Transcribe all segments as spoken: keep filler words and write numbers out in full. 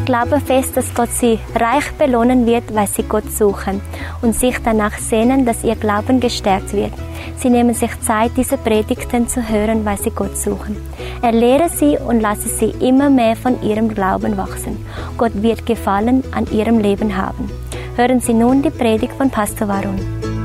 glaube fest, dass Gott sie reich belohnen wird, weil sie Gott suchen und sich danach sehnen, dass ihr Glauben gestärkt wird. Sie nehmen sich Zeit, diese Predigten zu hören, weil sie Gott suchen. Er lehre sie und lasse sie immer mehr von ihrem Glauben wachsen. Gott wird Gefallen an ihrem Leben haben. Hören Sie nun die Predigt von Pastor Varun.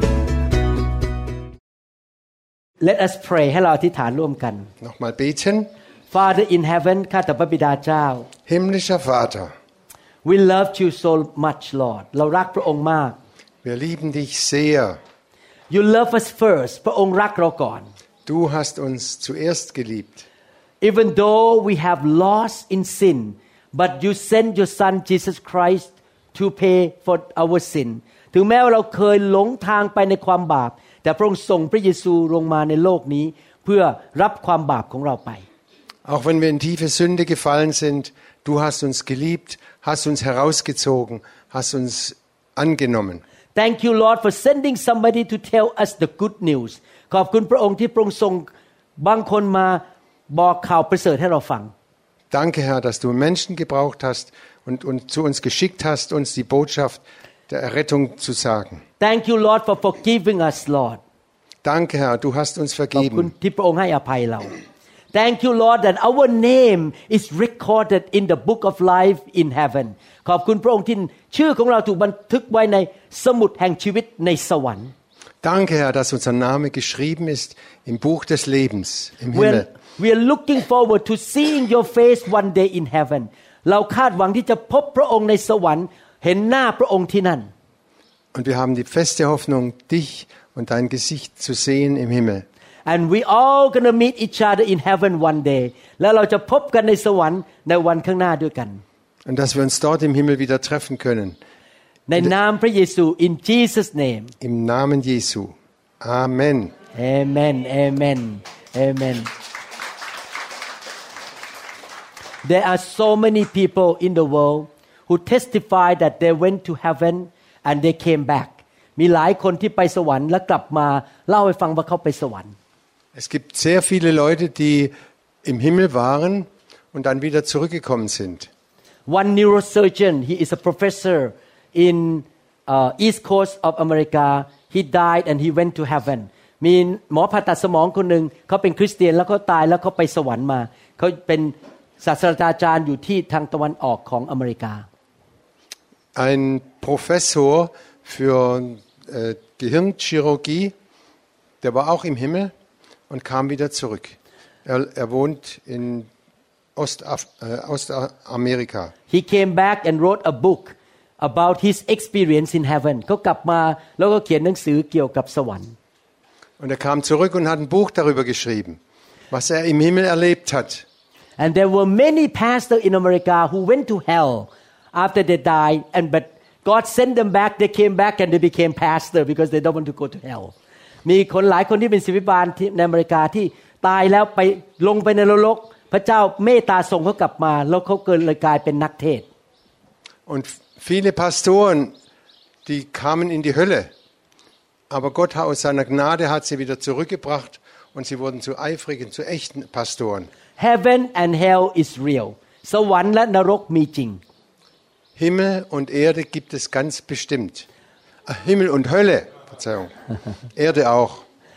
Let us pray ให้เราอธิษฐานร่วมกัน Nochmal beten. Father in heaven ข้าแต่พระบิดาเจ้า Himmlischer Vater, We love you so much Lord เรารักพระองค์มาก wir lieben dich sehr. You love us first พระองค์รักเราก่อน Du hast uns zuerst geliebt. Even though we have lost in sin but you sent your son Jesus Christ to pay for our sin ถึงแม้ว่าเราเคยหลงทางไปในความบาปแต่พระองค์ส่งพระเยซูลงมาในโลกนี้เพื่อรับความบาปของเราไป Auch wenn wir in tiefe Sünde gefallen sind, du hast uns geliebt, hast uns herausgezogen, hast uns angenommen. Thank you Lord for sending somebody to tell us the good news ขอบคุณพระองค์ที่พระองค์ส่งบางคนมาบอกข่าวประเสริฐให้เราฟัง Danke Herr, dass du Menschen gebraucht hast und, und zu uns geschickt hast, uns die Botschaft der Errettung zu sagen. Thank you Lord for forgiving us Lord Danke Herr, du hast uns ขอบคุณ vergeben. ที่พระองค์ให้อภัยเรา Thank you Lord that our name is recorded in the book of life in heaven ขอบคุณพระองค์ที่ชื่อของเราถูกบันทึกไว้ในสมุดแห่งชีวิตในสวรรค์ Danke Herr, dass unser Name geschrieben ist im Buch des Lebens im Himmel. We are looking forward to seeing your face one day in heaven เราคาดหวังที่จะพบพระองค์ในสวรรค์เห็นหน้าพระองค์ที่นั่น Und wir haben die feste Hoffnung, dich und dein Gesicht zu sehen im Himmel. And we all gonna meet each other in heaven one day แล้วเราจะพบกันในสวรรค์ในวันข้างหน้าด้วยกัน Und dass wir uns dort im Himmel wieder treffen können. ในนามพระเยซู in Jesus name Im Namen Jesu. Amen. Amen Amen Amen There are so many people in the world who testify that they went to heaven and they came back มีหลายคนที่ไปสวรรค์แล้วกลับมาเล่าให้ฟังว่าเขาไปสวรรค์ Es gibt sehr viele Leute, die im Himmel waren und dann wieder zurückgekommen sind. One neurosurgeon he is a professor in uh, East Coast of America he died and he went to heaven มีหมอผ่าตัดสมองคนหนึ่งเขาเป็นคริสเตียนแล้วเขาตายแล้วเขาไปสวรรค์มาเขาเป็นศาสตราจารย์อยู่ที่ทางตะวันออกของอเมริกา Ein Professor für äh, Gehirnchirurgie, der war auch im Himmel und kam wieder zurück. Er, er wohnt in Ostaf äh, Ostamerika. He came back and wrote a book about his experience in heaven เขากลับมาแล้วก็เขียนหนังสือเกี่ยวกับสวรรค์ Und er kam zurück und hat ein Buch darüber geschrieben, was er im Himmel erlebt hat. And there were many pastors in America who went to hell after they died and but God sent them back they came back and they became pastor because they don't want to go to hell มีคนหลายคนที่เป็นศิษย์บาลที่ในอเมริกาที่ตายแล้วไปลงไปในนรกพระเจ้าเมตตาส่งเขากลับมาแล้วเขาเกิดเลยกลายเป็นนักเทศน์ Und viele Pastoren, die kamen in die Hölle. Aber Gott hat aus seiner Gnade hat sie wieder zurückgebracht und sie wurden zu eifrigen, zu echten Pastoren. Heaven and hell is real สวรรค์และนรกมีจริง Himmel und Erde gibt es ganz bestimmt. Ach, Himmel und Hölle, Verzeihung. Erde auch.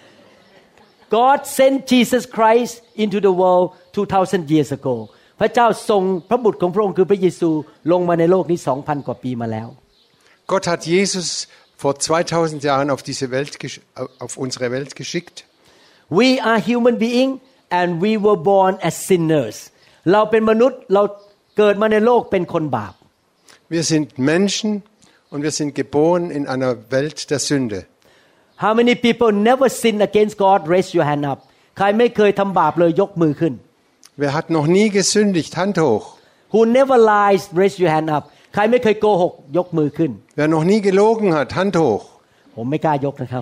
God sent Jesus Christ into the world two thousand years ago พระเจ้าส่งพระบุตรของพระองค์คือพระเยซูลงมาในโลกนี้ สองพัน กว่าปีมาแล้ว Gott hat Jesus vor zweitausend Jahren auf diese Welt auf unsere Welt geschickt. We are human being and we were born as sinners เราเป็นมนุษย์เราเกิดมาในโลกเป็นคนบาป Wir sind Menschen und wir sind geboren in einer Welt der Sünde. How many people never sin against God? Raise your hand up. ใครไม่เคยทำบาปเลยยกมือขึ้น Wer hat noch nie gesündigt? Hand hoch. Who never lies? Raise your hand up. ใครไม่เคยโกหกยกมือขึ้น Wer noch nie gelogen hat? Hand hoch. ผมไม่กล้ายกนะครับ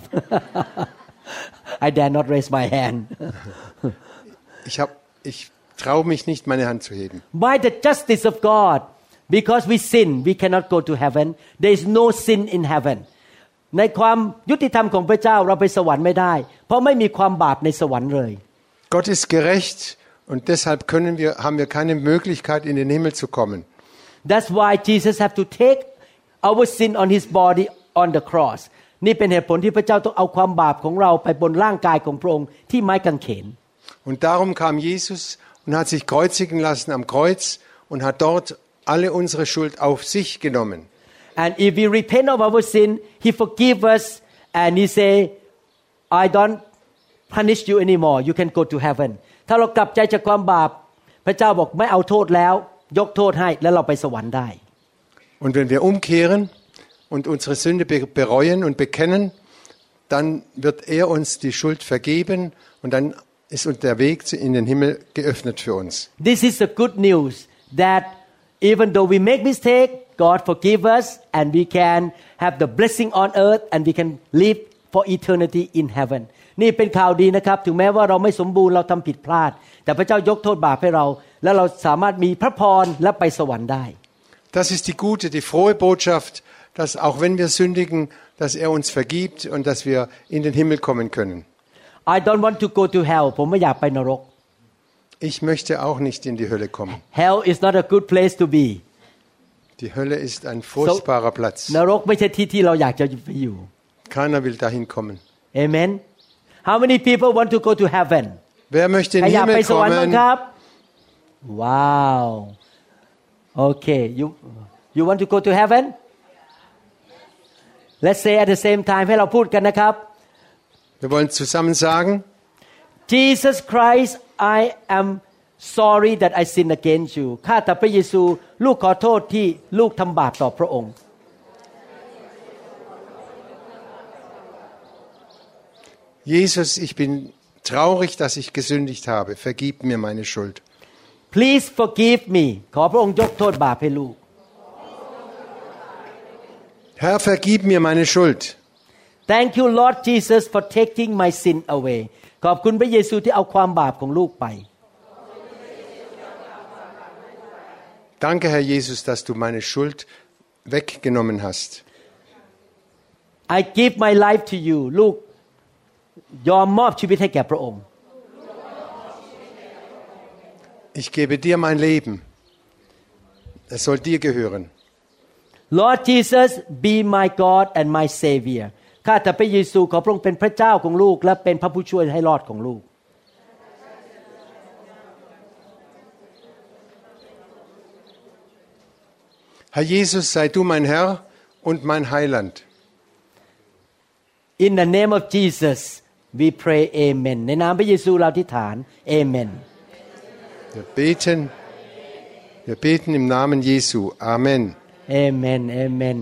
I dare not raise my hand. Ich hab, ich traue mich nicht, meine Hand zu heben. By the justice of God, because we sin, we cannot go to heaven. There is no sin in heaven. ในความยุติธรรมของพระเจ้าเราไปสวรรค์ไม่ได้เพราะไม่มีความบาปในสวรรค์เลย Gott ist gerecht und deshalb können wir, haben wir keine Möglichkeit, in den Himmel zu kommen. That's why Jesus have to take our sin on his body on the cross นี่เป็นเหตุผลที่พระเจ้าต้องเอาความบาปของเราไปบนร่างกายของพระองค์ที่ไม้กางเขน Und darum kam Jesus und hat sich kreuzigen lassen am Kreuz und hat dort alle unsere Schuld auf sich genommen. And if we repent of our sin, He forgive us and He say, I don't punish you anymore. You can go to heaven. ถ้าเรากลับใจจากความบาปพระเจ้าบอกไม่เอาโทษแล้วยกโทษให้แล้วเราไปสวรรค์ได้ Und wenn wir umkehren und unsere Sünde bereuen und bekennen, dann wird er uns die Schuld vergeben und dann ist uns der Weg in den Himmel geöffnet für uns. This is the good news that even though we make mistake, God forgive us and we can have the blessing on earth and we can live for eternity in heaven. นี่เป็นข่าวดีนะครับถึงแม้ว่าเราไม่สมบูรณ์เราทำผิดพลาดแต่พระเจ้ายกโทษบาปให้เราและเราสามารถมีพระพรและไปสวรรค์ได้ Das ist die gute, die frohe Botschaft, dass auch wenn wir sündigen, dass er uns vergibt und dass wir in den Himmel kommen können. I don't want to go to hell ผมไม่อยากไปนรก Ich möchte auch nicht in die Hölle kommen. Hell is not a good place to be. Die Hölle ist ein furchtbarer so, Platz. นรกไม่ใช่ที่ที่เราอยากจะไปอยู่ Keiner will dahin kommen. Amen. How many people want to go to heaven? Wer möchte in den ใครอยากไป Himmel สวรรค์บ้าง kommen? ครับ Wow. Okay. You you want to go to heaven? Let's say at the same time ให้เราพูดกันนะครับ Wir wollen zusammen sagen, Jesus Christ, I am sorry that I sin against you. ข้าแต่พระเยซูลูกขอโทษที่ลูกทำบาปต่อพระองค์ Jesus, ich bin traurig, dass ich gesündigt habe. Vergib mir meine Schuld. Please forgive me. ขอพระองค์ยกโทษบาปให้ลูก Herr, vergib mir meine Schuld. Thank you Lord Jesus for taking my sin away. ขอบคุณพระเยซูที่เอาความบาปของลูกไป Danke, Herr Jesus, dass du meine Schuld weggenommen hast. I give my life to you. ลูกยอมมอบชีวิตให้แก่พระองค์ Ich gebe dir mein Leben. Es soll dir gehören. Lord Jesus, be my God and my Savior. ข้าแต่พระเยซูขอพระองค์เป็นพระเจ้าของลูกและเป็นพระผู้ช่วยให้รอดของลูก Herr Jesus, sei du mein Herr und mein Heiland. In the name of Jesus, we pray Amen. ในนามพระเยซูเราอธิษฐาน Amen. Wir beten, wir beten im Namen Jesu. Amen. Amen. Amen.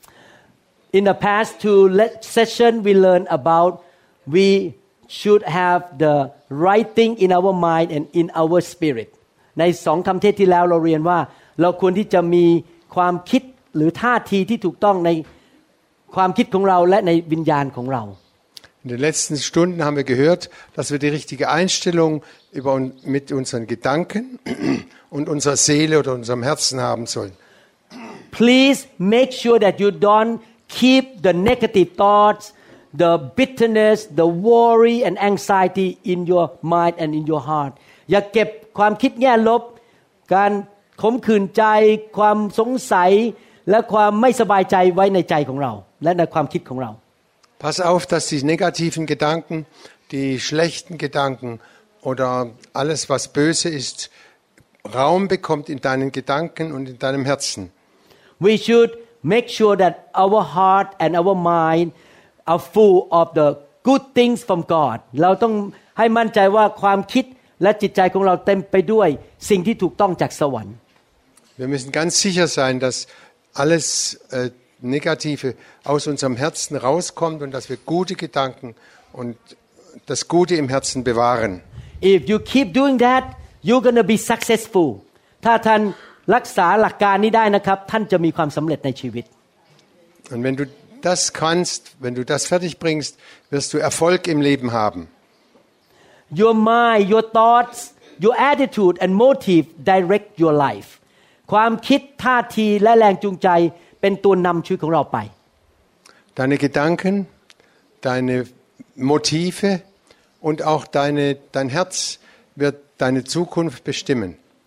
In the past two session, we learned about we should have the right thing in our mind and in our spirit. ในสองคำเทศน์ที่แล้วเราเรียนว่าเราควรที่จะมีความคิดหรือท่าทีที่ถูกต้องในความคิดของเราและในวิญญาณของเรา In den letzten Stunden haben wir gehört, dass wir die richtige Einstellung über, mit unseren Gedanken und unserer Seele oder unserem Herzen haben sollen. Please make sure that you don't keep the negative thoughts, the bitterness, the worry and anxiety in your mind and in your heart. อย่าเก็บความคิดแง่ลบการขมขื่นใจความสงสัยและความไม่สบายใจไว้ในใจของเราและในความคิดของเรา Pass auf, dass die negativen Gedanken, die schlechten Gedanken oder alles, was böse ist, Raum bekommt in deinen Gedanken und in deinem Herzen. We should make sure that our heart and our mind are full of the good things from God. เราต้องให้มั่นใจว่าความคิดและจิตใจของเราเต็มไปด้วยสิ่งที่ถูกต้องจากสวรรค์ Wir müssen ganz sicher sein, dass alles äh, Negative aus unserem Herzen rauskommt und dass wir gute Gedanken und das Gute im Herzen bewahren. If you keep doing that, you're gonna be successful. ถ้าท่านรักษาหลักการนี้ได้นะครับท่านจะมีความสำเร็จในชีวิต Und wenn du das kannst, wenn du das fertig bringst, wirst du Erfolg im Leben haben. Your mind, your thoughts, your attitude and motive direct your life. ความคิดท่าทีและแรงจูงใจเป็นตัวนำชีวิตของเราไป Deine Gedanken, deine Motive und auch deine, dein Herz wird deine Zukunft bestimmen.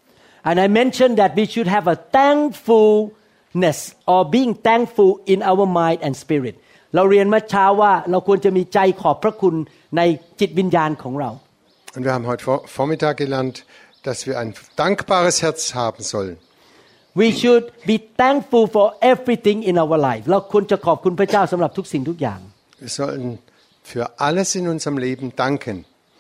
And I mentioned that we should have a thankfulness or being thankful in our mind and spirit. เราเรียนเมื่อเช้าว่าเราควรจะมีใจขอบพระคุณในจิตวิญญาณของเรา Und wir haben heute Vormittag gelernt, dass wir ein dankbares Herz haben sollen. We should be thankful for everything in our life. เราควรจะขอบคุณพระเจ้าสำหรับทุกสิ่งทุกอย่าง Wir sollen für alles in unserem Leben danken.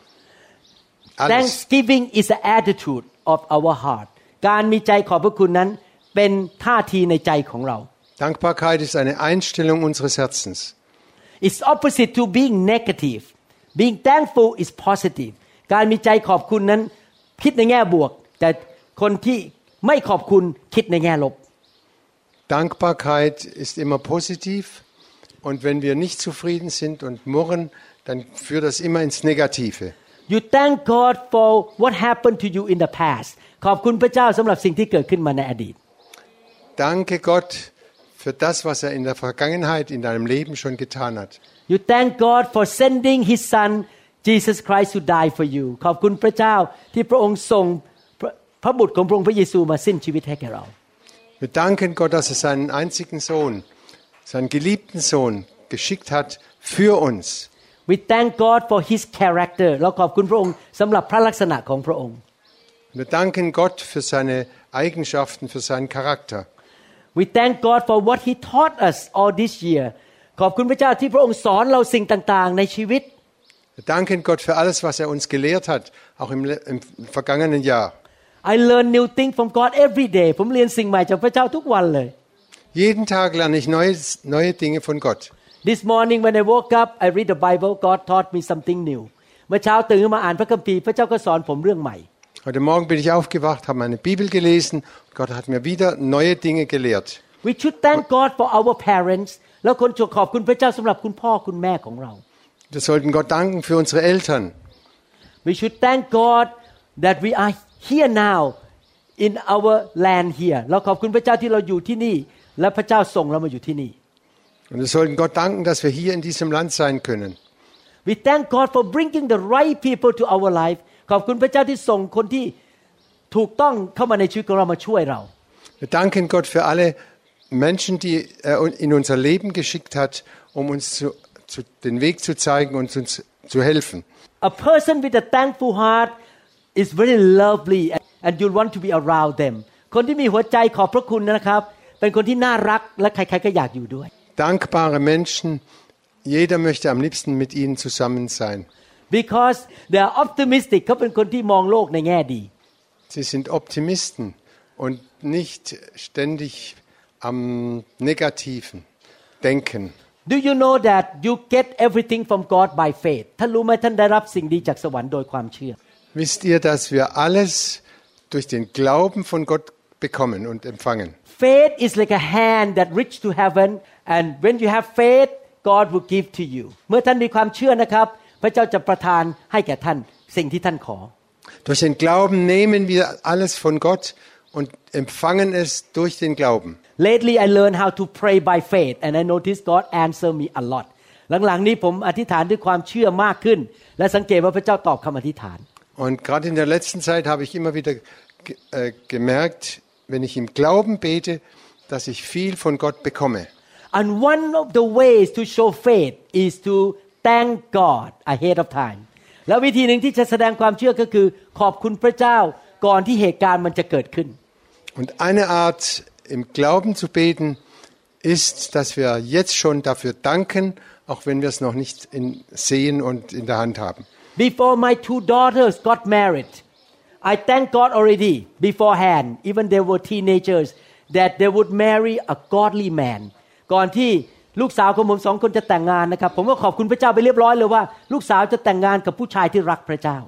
Alles. Thanksgiving is an attitude of our heart. การมีใจขอบพระคุณนั้นเป็นท่าทีในใจของเรา Dankbarkeit ist eine Einstellung unseres Herzens. It's opposite to being negative. Being thankful is positive. การมีใจขอบคุณนั้นคิดในแง่บวกแต่คนที่ไม่ขอบคุณคิดในแง่ลบ Dankbarkeit ist immer positiv und wenn wir nicht zufrieden sind und murren, dann führt das immer ins Negative. You thank God for what happened to you in the past. ขอบคุณพระเจ้าสำหรับสิ่งที่เกิดขึ้นมาในอดีต Danke Gott für das, was er in der Vergangenheit in deinem Leben schon getan hat. You thank God for sending His Son Jesus Christ to die for you. ขอบคุณพระเจ้าที่พระองค์ส่งพระบุตรของพระองค์พระเยซูมาสิ้นชีวิตให้แก่เรา Wir danken Gott, dass er seinen einzigen Sohn, seinen geliebten Sohn geschickt hat für uns. We thank God for His character. เราขอบคุณพระองค์สำหรับพระลักษณะของพระองค์ Wir danken Gott für seine Eigenschaften, für seinen Charakter. We thank God for what He taught us all this year. ขอบคุณพระเจ้าที่พระองค์สอนเราสิ่งต่างๆในชีวิต Wir danken Gott für alles, was er uns gelehrt hat, auch im, im vergangenen Jahr. I learn new things from God every day. ผมเรียนสิ่งใหม่จากพระเจ้าทุกวันเลย Jeden Tag lerne ich neue, neue Dinge von Gott. This morning when I woke up, I read the Bible. God taught me something new. เมื่อเช้าตื่นขึ้นมาอ่านพระคัมภีร์พระเจ้าก็สอนผมเรื่องใหม่ Heute Morgen bin ich aufgewacht, habe meine Bibel gelesen. Gott hat mir wieder neue Dinge gelehrt. We should thank God for our parents. แล้วคนจะขอบคุณพระเจ้าสำหรับคุณพ่อคุณแม่ของเรา Wir sollten Gott danken für unsere Eltern. We should thank God that we are here now in our land here. เราขอบคุณพระเจ้าที่เราอยู่ที่นี่และพระเจ้าส่งเรามาอยู่ที่นี่ Und wir sollten Gott danken, dass wir hier in diesem Land sein können. We thank God for bringing the right people to our life. ขอบคุณพระเจ้าที่ส่งคนที่ถูกต้องเข้ามาในชีวิตของเรามาช่วยเรา Wir danken Gott für alle Menschen, die er in unser Leben geschickt hat, um uns zu, zu, den Weg zu zeigen und uns zu helfen. A person with a thankful heart is very lovely and you want to be around them. คนที่มีหัวใจขอบพระคุณนะครับเป็นคนที่น่ารักและใครๆก็อยากอยู่ด้วย Dankbare Menschen, jeder möchte am liebsten mit ihnen zusammen sein. Because they are optimistic. เขาเป็นคนที่มองโลกในแง่ดี Sie sind Optimisten und nicht ständig am Negativen denken. Do you know that you get everything from God by faith? ท่านรู้ไหมท่านได้รับสิ่งดีจากสวรรค์โดยความเชื่อ Wisst ihr, dass wir alles durch den Glauben von Gott bekommen und empfangen? Faith is like a hand that reach to heaven and when you have faith God will give to you เมื่อท่านมีความเชื่อนะครับพระเจ้าจะประทานให้แก่ท่านสิ่งที่ท่านขอ Durch den Glauben nehmen wir alles von Gott und empfangen es durch den Glauben. Lately I learned how to pray by faith and I noticed God answer me a lot หลังๆนี้ผมอธิษฐานด้วยความเชื่อมากขึ้นและสังเกตว่าพระเจ้าตอบคำอธิษฐาน Und gerade in der letzten Zeit habe ich immer wieder äh, gemerkt, wenn ich im Glauben bete, dass ich viel von Gott bekomme. And one of the ways to show faith is to thank God ahead of time แล้ววิธีหนึ่งที่จะแสดงความเชื่อก็คือขอบคุณพระเจ้าก่อนที่เหตุการณ์มันจะเกิดขึ้น Und eine Art im Glauben zu beten ist, dass wir jetzt schon dafür danken, auch wenn wir es noch nicht in, sehen und in der Hand haben. Before my two daughters got married I thank God already beforehand even they were teenagers that they would marry a godly man ก่อนที่ลูกสาวของผมสองคนจะแต่งงานนะครับผมก็ขอบคุณพระเจ้าไปเรียบร้อยเลยว่าลูกสาวจะแต่งงานกับผู้ชายที่รักพระเจ้า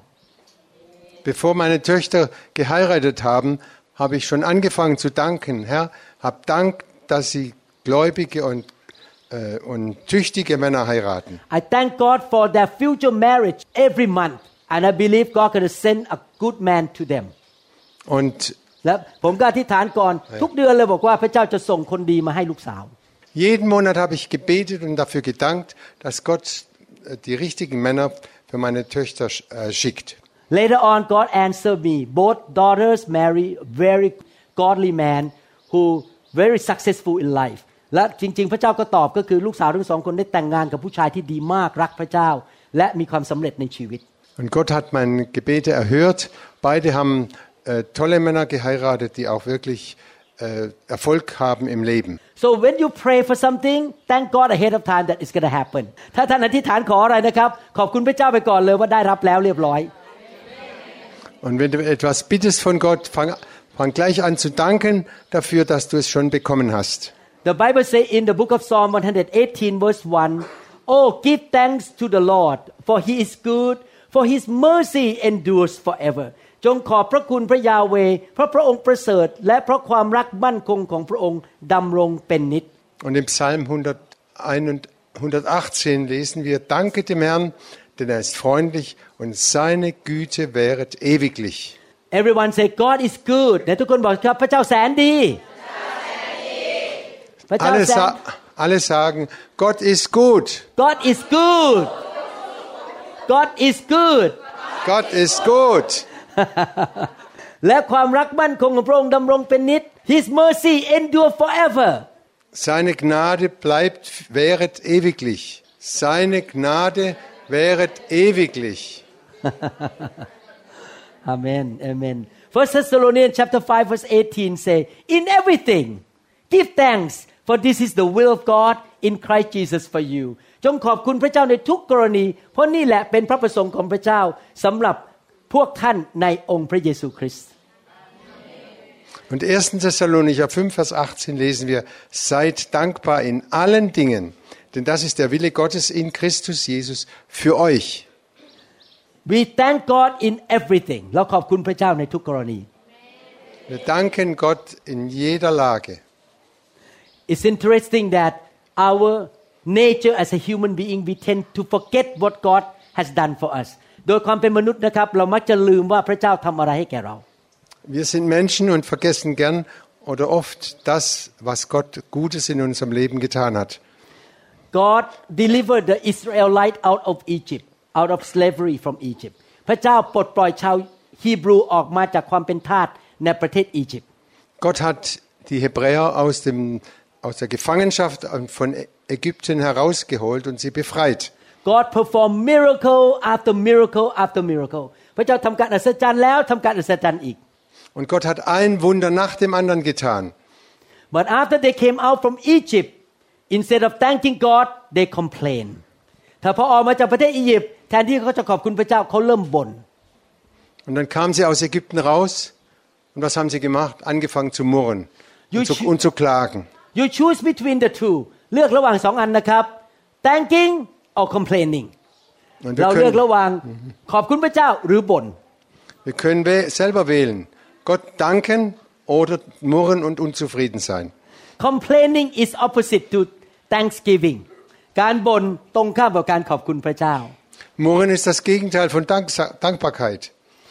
Bevor meine Töchter geheiratet haben, habe ich schon angefangen zu danken. Herr, hab Dank, dass sie gläubige und, äh, und tüchtige Männer heiraten. I thank God for their future marriage every month and I believe God going to send a good man to them. Und และผมก็อธิษฐานก่อนทุกเดือนเลยบอกว่าพระเจ้าจะส่งคนดีมาให้ลูกสาว jeden Monat habe ich gebetet und dafür gedankt, dass Gott die richtigen Männer für meine Töchter äh, schickt. Later on, God answered me. Both daughters marry very godly man who very successful in life. และจริงๆพระเจ้าก็ตอบก็คือลูกสาวทั้งสองคนได้แต่งงานกับผู้ชายที่ดีมากรักพระเจ้าและมีความสำเร็จในชีวิต Und Gott hat meine Gebete erhört. Beide haben äh, tolle Männer geheiratet, die auch wirklich äh, Erfolg haben im Leben. So when you pray for something, thank God ahead of time that it's going to happen. ถ้าท่านอธิษฐานขออะไรนะครับขอบคุณพระเจ้าไปก่อนเลยว่าได้รับแล้วเรียบร้อย Und wenn du etwas bittest von Gott, fang, fang gleich an zu danken dafür, dass du es schon bekommen hast. The Bible says in the book of Psalm one eighteen verse one, "Oh, give thanks to the Lord, for He is good, for His mercy endures forever." จงขอบพระคุณพระยาเวห์เพราะพระองค์ประเสริฐและเพราะความรักมั่นคงของพระองค์ดำรงเป็นนิจ Und im Psalm hundertachtzehn lesen wir: Danke dem Herrn, denn er ist freundlich und seine Güte währet ewiglich. Everyone say God is good. และทุกคนบอกครับพระเจ้าแสนดี Alle, sa- alle sagen, Gott ist gut. God is good. God is good. Gott ist gut. และความรักมั่นคงของพระองค์ดำรงเป็นนิจ His mercy endure forever. Seine Gnade bleibt, währet ewiglich. Seine Gnade währet ewiglich. Amen. Amen. First Thessalonians chapter five verse eighteen say, in everything give thanks, for this is the will of God in Christ Jesus for you. จงขอบคุณพระเจ้าในทุกกรณีเพราะนี่แหละเป็นพระประสงค์ของพระเจ้าสำหรับพวกท่านในองค์พระเยซูคริสต์ Und erster Thessalonicher fünf Vers achtzehn lesen wir: Seid dankbar in allen Dingen, denn das ist der Wille Gottes in Christus Jesus für euch. We thank God in everything. เราขอบคุณพระเจ้าในทุกกรณี Wir danken Gott in jeder Lage. It's interesting that our nature as a human being we tend to forget what God has done for us. โดยความเป็นมนุษย์นะครับเรามักจะลืมว่าพระเจ้าทำอะไรให้แก่เรา Wir sind Menschen und vergessen gern oder oft das, was Gott Gutes in unserem Leben getan hat. God delivered the Israelites out of Egypt, out of slavery from Egypt. พระเจ้าปลดปล่อยชาวฮีบรูออกมาจากความเป็นทาสในประเทศอียิปต์ Gott hat die Hebräer aus dem aus der Gefangenschaft von Ägypten herausgeholt und sie befreit. God performed miracle after miracle after miracle. พระเจ้าทำการอัศจรรย์แล้วทำการอัศจรรย์อีก Und Gott hat ein Wunder nach dem anderen getan. But after they came out from Egypt, instead of thanking God, they complained. ถ้าพอออกมาจากประเทศอียิปต์แทนที่เขาจะขอบคุณพระเจ้าเขาเริ่มบ่น Und dann kamen sie aus Ägypten raus und was haben sie gemacht? Angefangen zu murren und zu, und zu klagen. You choose between the two. เลือกระหว่างสองอันนะครับ thanking or complaining. เราเลือกระหว่างขอบคุณพระเจ้าหรือบ่น Wir können selber wählen. Gott danken oder murren und unzufrieden sein. Complaining is opposite to thanksgiving. การบ่นตรงข้ามกับการขอบคุณพระเจ้า Murren ist das Gegenteil von Dank Dankbarkeit.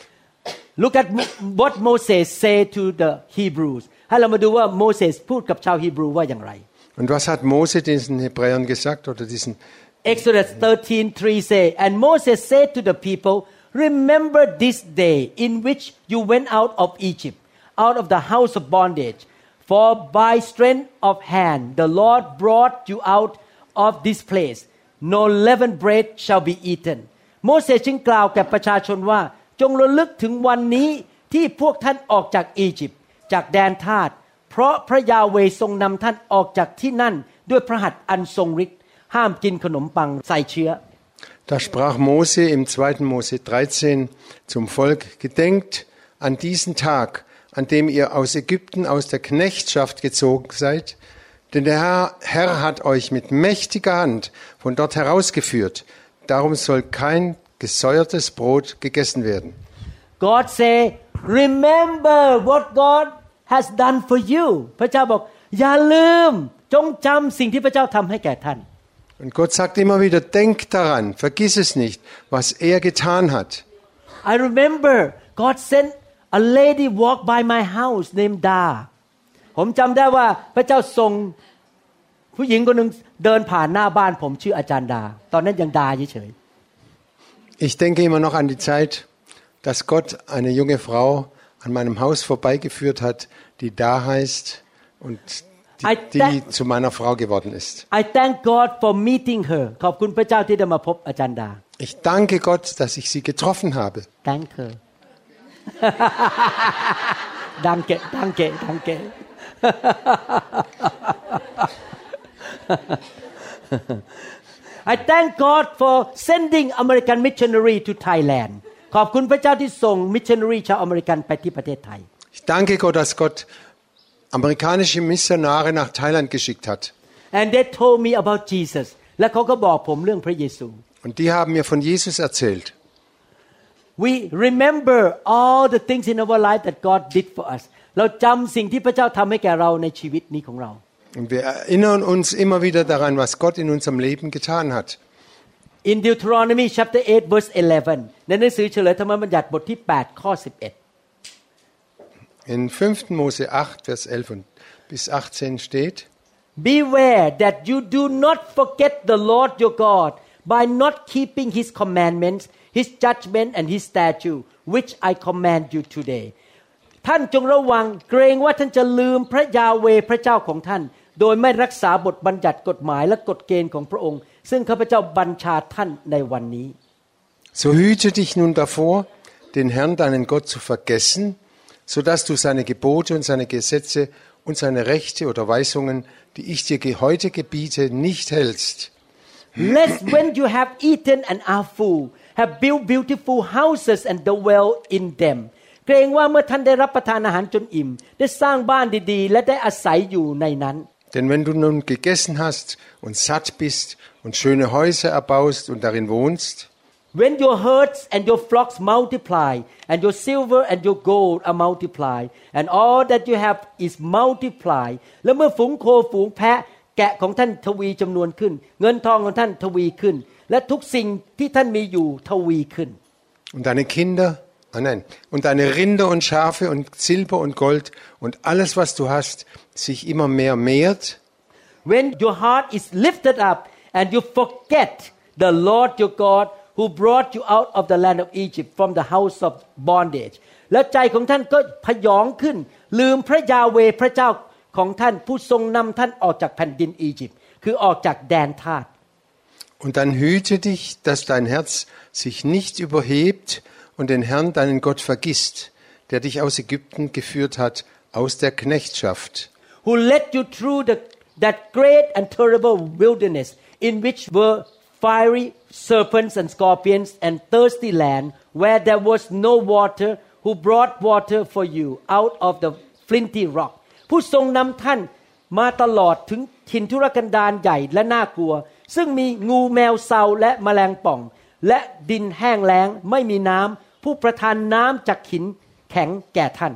Look at what Moses said to the Hebrews. ให้เรามาดูว่าโมเสสพูดกับชาวฮีบรูว่าอย่างไร Und was hat Mose diesen Hebräern gesagt oder diesen Exodus thirteen three say, and Moses said to the people, remember this day in which you went out of Egypt, out of the house of bondage. For by strength of hand the Lord brought you out of this place. No leavened bread shall be eaten. โมเสสจึงกล่าวแก่ประชาชนว่าจงระลึกถึงวันนี้ที่พวกท่านออกจากอียิปต์จากแดนทาสเพราะพระยาเวห์ทรงนำท่านออกจากที่นั่นด้วยพระหัตถ์อันทรงฤทธิ์ห้ามกินขนมปังใส่เชื้อ Da sprach Mose im zweiten Mose dreizehn zum Volk: Gedenkt an diesen Tag, an dem ihr aus Ägypten aus der Knechtschaft gezogen seid, denn der Herr, Herr hat euch mit mächtiger Hand von dort herausgeführt. Darum soll kein gesäuertes Brot gegessen werden. God say, remember what God has done for you. พระเจ้าบอกอย่าลืมจงจำสิ่งที่พระเจ้าทำให้แก่ท่าน Und Gott sagt immer wieder: Denk daran, vergiss es nicht, was er getan hat. I remember God sent a lady walk by my house named Da. ผมจำได้ว่าพระเจ้าส่งผู้หญิงคนหนึ่งเดินผ่านหน้าบ้านผมชื่ออาจารย์ดาตอนนั้นยังดาเฉย Ich denke immer noch an die Zeit, dass Gott eine junge Frau an meinem Haus vorbeigeführt hat, die da heißt und die, die zu meiner Frau geworden ist. I thank God for meeting her. ขอบคุณพระเจ้าที่ได้มาพบอาจารย์ดา Ich danke Gott, dass ich sie getroffen habe. Danke. danke, danke, danke. I thank God for sending American missionary to Thailand. ขอบคุณพระเจ้าที่ส่ง missionary ชาวอเมริกันไปที่ประเทศไทย Ich danke Gott, dass Gott amerikanische Missionare nach Thailand geschickt hat. And they told me about Jesus. และเขาก็บอกผมเรื่องพระเยซู Und die haben mir von Jesus erzählt. We remember all the things in our life that God did for us. เราจำสิ่งที่พระเจ้าทำให้แก่เราในชีวิตนี้ของเรา Und wir erinnern uns immer wieder daran, was Gott in unserem Leben getan hat. In Deuteronomy chapter eight verse eleven ในหนังสือเฉลยธรรมบัญญัติบทที่แปดข้อสิบเอ็ด In fünften Mose acht Vers elf bis achtzehn steht: Beware that you do not forget the Lord your God by not keeping his commandments, his judgment and his statute which I command you today. ท่านจงระวังเกรงว่าท่านจะลืมพระยาเวห์พระเจ้าของท่านโดยไม่รักษาบทบัญญัติกฎหมายและกฎเกณฑ์ของพระองค์ซึ่งข้าพเจ้าบัญชาท่านในวันนี้ So hüte dich nun davor, den Herrn deinen Gott zu vergessen, so dass du seine Gebote und seine Gesetze und seine Rechte oder Weisungen, die ich dir heute gebiete, nicht hältst. Lest when you have eaten and are full, have built beautiful houses and dwell in them. เกรงว่าเมื่อท่านได้รับประทานอาหารจนอิ่มได้สร้างบ้านดีๆและได้อาศัยอยู่ในนั้น Denn wenn du nun gegessen hast und satt bist und schöne Häuser erbaust und darin wohnst, when your herds and your flocks multiply and your silver and your gold are multiplied and all that you have is multiplied และเมื่อฝูงโคฝูงแพะแกะของท่านทวีจำนวนขึ้นเงินทองของท่านทวีขึ้นและทุกสิ่งที่ท่านมีอยู่ทวีขึ้น und deine Kinder Ah, nein. Und deine Rinder und Schafe und Silber und Gold und alles, was du hast, sich immer mehr mehrt. When your heart is lifted up and you forget the Lord your God who brought you out of the land of Egypt from the house of bondage และใจของท่านก็พยองขึ้นลืมพระยาเวห์พระเจ้าของท่านผู้ทรงนำท่านออกจากแผ่นดินอียิปต์คือออกจากแดนทาส Und dann hüte dich, dass dein Herz sich nicht überhebt und den Herrn, deinen Gott, vergisst, der dich aus Ägypten geführt hat, aus der Knechtschaft. Who led you through the, that great and terrible wilderness, in which were fiery serpents and scorpions and thirsty land, where there was no water, who brought water for you out of the flinty rock. ผู้ทรงนำท่านมาตลอดถึงถิ่นทุรกันดารใหญ่และน่ากลัวซึ่งมีงูแมวเซาและแมลงป่องและดินแห้งแล้งไม่มีน้ำผู้ประทานน้ำจากหินแข็งแก่ท่าน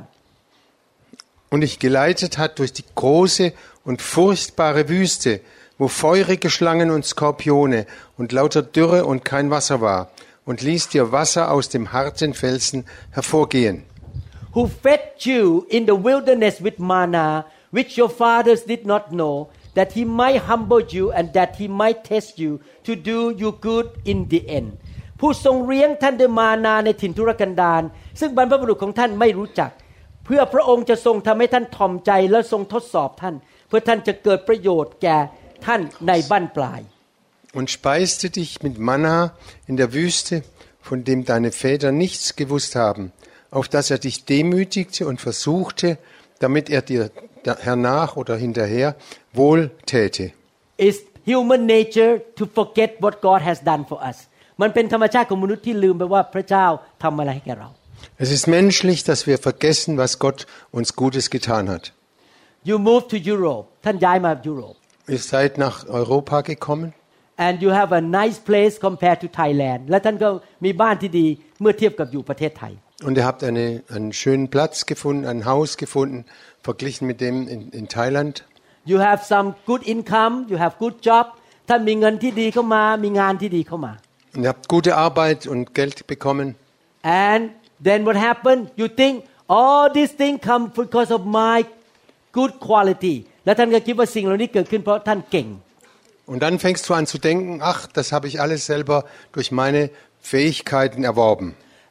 Und dich geleitet hat durch die große und furchtbare Wüste, wo feurige Schlangen und Skorpione und lauter Dürre und kein Wasser war, und ließ dir Wasser aus dem harten Felsen hervorgehen. Who fed you in the wilderness with manna, which your fathers did not know, that he might humble you and that he might test you to do you good in the end. ผู้ทรงเลี้ยงท่านด้วยมานาในถิ่นทุรกันดารซึ่งบรรพบุรุษของท่านไม่รู้จักเพื่อพระองค์จะทรงทำให้ท่านถ่อมใจและทรงทดสอบท่านเพื่อท่านจะเกิดประโยชน์แก่ท่านในบั้นปลาย Und speiste dich mit Manna in der Wüste, von dem deine Väter nichts gewusst haben, auf dass er dich demütigte und versuchte, damit er dir hernach oder hinterher wohl täte. It's human nature to forget what God has done for us. มันเป็นธรรมชาติของมนุษย์ที่ลืมไปว่าพระเจ้าทำอะไรให้แก่เรา Es ist menschlich, dass wir vergessen, was Gott uns Gutes getan hat. You move to Europe. ท่านย้ายมายุโรป Ihr seid nach Europa gekommen. And you have a nice place compared to Thailand. และท่านก็มีบ้านที่ดีเมื่อเทียบกับอยู่ประเทศไทย Und ihr habt eine, einen schönen Platz gefunden, ein Haus gefunden, verglichen mit dem in, in Thailand. You have some good income. You have good job. ท่านมีเงินที่ดีเข้ามามีงานที่ดีเข้ามา Und ihr habt gute Arbeit und Geld bekommen. And then what happened? You think all these things come because of my good quality. และท่านก็คิดว่าสิ่งเหล่านี้เกิดขึ้นเพราะท่านเก่ง Und dann fängst du an zu denken, ach, das habe ich alles selber durch meine Fähigkeiten erworben.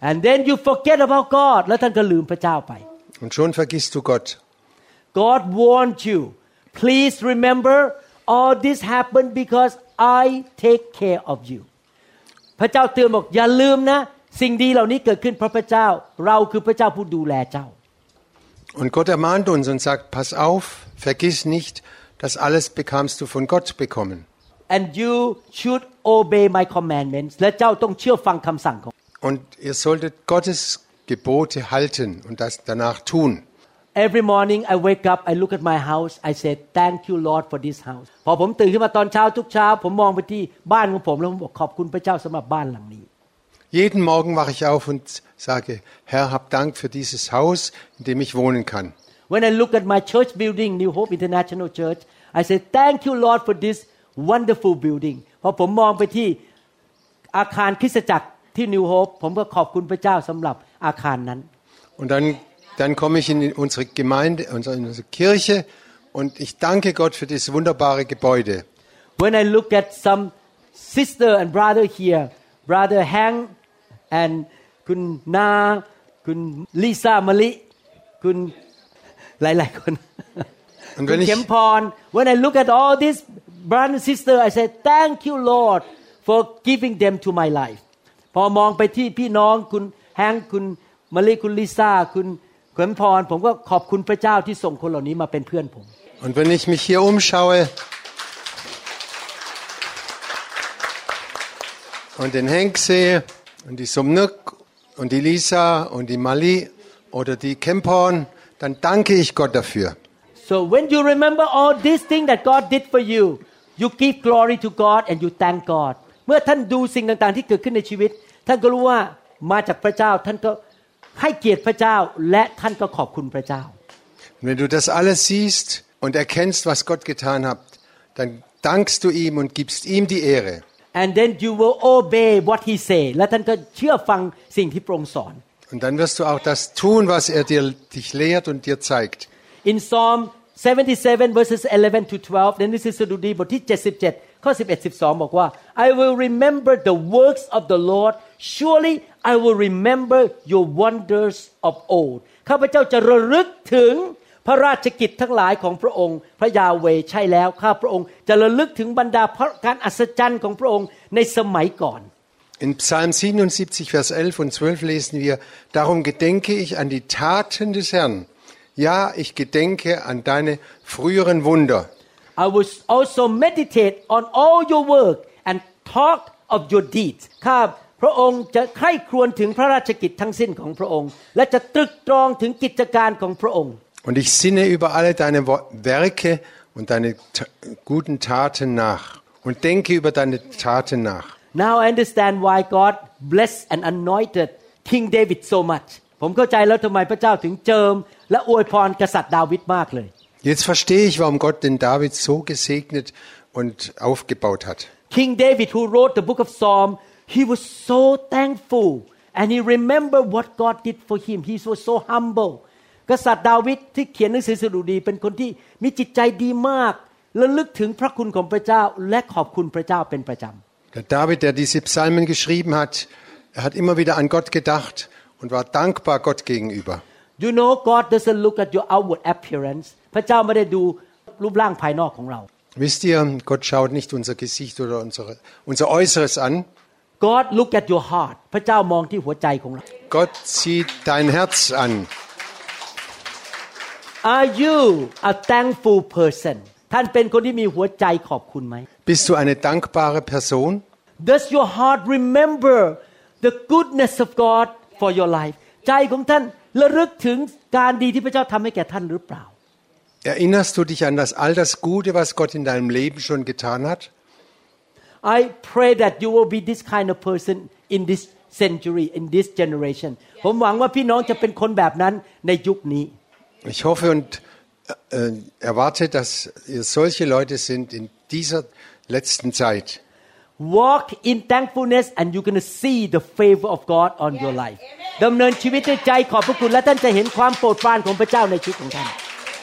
and then you forget about God แล้วท่านก็ลืมพระเจ้าไป Und schon vergisst du Gott. God warned you please remember all this happened because I take care of you พระเจ้าเตือนบอกอย่าลืมนะสิ่งดีเหล่านี้เกิดขึ้นเพราะพระเจ้าเราคือพระเจ้าผู้ดูแลเจ้า Und Gott ermahnt uns und sagt, pass auf, vergiss nicht, das alles bekamst du von Gott bekommen. And you should obey my commandments และเจ้าต้องเชื่อฟังคำสั่งของ Und ihr solltet Gottes Gebote halten und das danach tun. Every morning I wake up I look at my house I say thank you Lord for this house พอผมตื่นขึ้นมาตอนเช้าทุกเช้าผมมองไปที่บ้านของผมแล้วผมบอกขอบคุณพระเจ้าสำหรับบ้านหลังนี้ Jeden Morgen wache ich auf und sage, Herr, hab Dank für dieses Haus, in dem ich wohnen kann. When I look at my church building New Hope International Church I say thank you Lord for this wonderful building พอผมมองไปที่อาคารคริสตจักรที่ New Hope ผมก็ขอบคุณพระเจ้าสำหรับอาคารนั้น Und dann dann komme ich in unsere Gemeinde, in unsere Kirche und ich danke Gott für dieses wunderbare Gebäude. When I look at some sister and brother here brother Hank and คุณนาคุณลิซ่ามะลิคุณหลายๆคน Und คุ wenn ณ ich เข็มพร When I look at all these brothers and sisters I say thank you Lord for giving them to my life พอมองไปที่พี่น้องคุณแฮงคุณมะลิคุณลิซ่าคุณเข็มพรผมก็ขอบคุณพระเจ้าที่ส่งคนเหล่านี้มาเป็นเพื่อนผม Und wenn ich mich hier umschaue und den Henk sehe und die Somnuk und die Lisa und die Mali oder die Kemporn, dann danke ich Gott dafür. So when you remember all these things that God did for you you give glory to God and you thank God เมื่อท่านดูสิ่งต่างๆที่เกิดขึ้นในชีวิตท่านก็รู้ว่ามาจากพระเจ้าท่านก็ให้เกียรติพระเจ้าและท่านก็ขอบคุณพระเจ้า Und wenn du das alles siehst und erkennst, was Gott getan hat, dann dankst du ihm und gibst ihm die Ehre. And then you will obey what he say และท่านก็เชื่อฟังสิ่งที่พระองค์สอน Und dann wirst du auch das tun, was er dir dich lehrt und dir zeigt. In Psalm seventy-seven verses eleven to twelve ในหนังสือสดุดีบทที่เจ็ดสิบเจ็ดข้อสิบเอ็ด สิบสองบอกว่า I will remember the works of the Lord surely I will remember your wonders of old ข้าพเจ้าจะระลึกถึงพระราชกิจทั้งหลายของพระองค์พระยาเวห์ใช่แล้วข้าพระองค์จะระลึกถึงบรรดาการอัศจรรย์ของพระองค์ในสมัยก่อน In Psalm siebenundsiebzig, Vers elf und zwölf lesen wir, darum gedenke ich an die Taten des Herrn. Ja, ich gedenke an deine früheren Wunder. I will also meditate on all your work and talk of your deeds ข้าพระองค์จะใคร่ครวญถึงพระราชกิจทั้งสิ้นของพระองค์และจะตรึกตรองถึงกิจการของพระองค์ Und ich sinne über alle deine Werke und deine guten Taten nach und denke über deine Taten nach. Now I understand why God blessed and anointed King David so much ผมเข้าใจแล้วทำไมพระเจ้าถึงเจิมและอวยพรกษัตริย์ดาวิดมากเลย Jetzt verstehe ich, warum Gott den David so gesegnet und aufgebaut hat. King David who wrote the book of Psalm he was so thankful and he remembered what God did for him he was so humble กษัตริย์ดาวิดที่เขียนหนังสือสดุดีเป็นคนที่มีจิตใจดีมากระลึกถึงพระคุณของพระเจ้าและขอบคุณพระเจ้าเป็นประจำ Der David, der diese Psalmen geschrieben hat, er hat immer wieder an Gott gedacht und war dankbar Gott gegenüber. You know God doesn't look at your outward appearance พระเจ้าไม่ได้ดูรูปร่างภายนอกของเรา Wisst ihr, Gott schaut nicht unser Gesicht oder unsere, unser Äußeres an. God look at your heart พระเจ้ามองที่หัวใจของเรา Gott sieht dein Herz an. Are you a thankful person ท่านเป็นคนที่มีหัวใจขอบคุณไหม Bist du eine dankbare Person? Does your heart remember the goodness of God for your life ใจของท่านระลึกถึงการดีที่พระเจ้าทำให้แก่ท่านหรือเปล่า Erinnerst du dich an das all das Gute, was Gott in deinem Leben schon getan hat? I pray that you will be this kind of person in this century in this generation ผมหวังว่าพี่น้องจะเป็นคนแบบนั้นในยุคนี้ Ich hoffe und äh, erwarte, dass ihr solche Leute sind in dieser letzten Zeit. Walk in thankfulness and you're going to see the favor of God on your life ดำเนินชีวิตด้วยใจขอบพระคุณและท่านจะเห็นความโปรดปรานของพระเจ้าในชีวิตของท่าน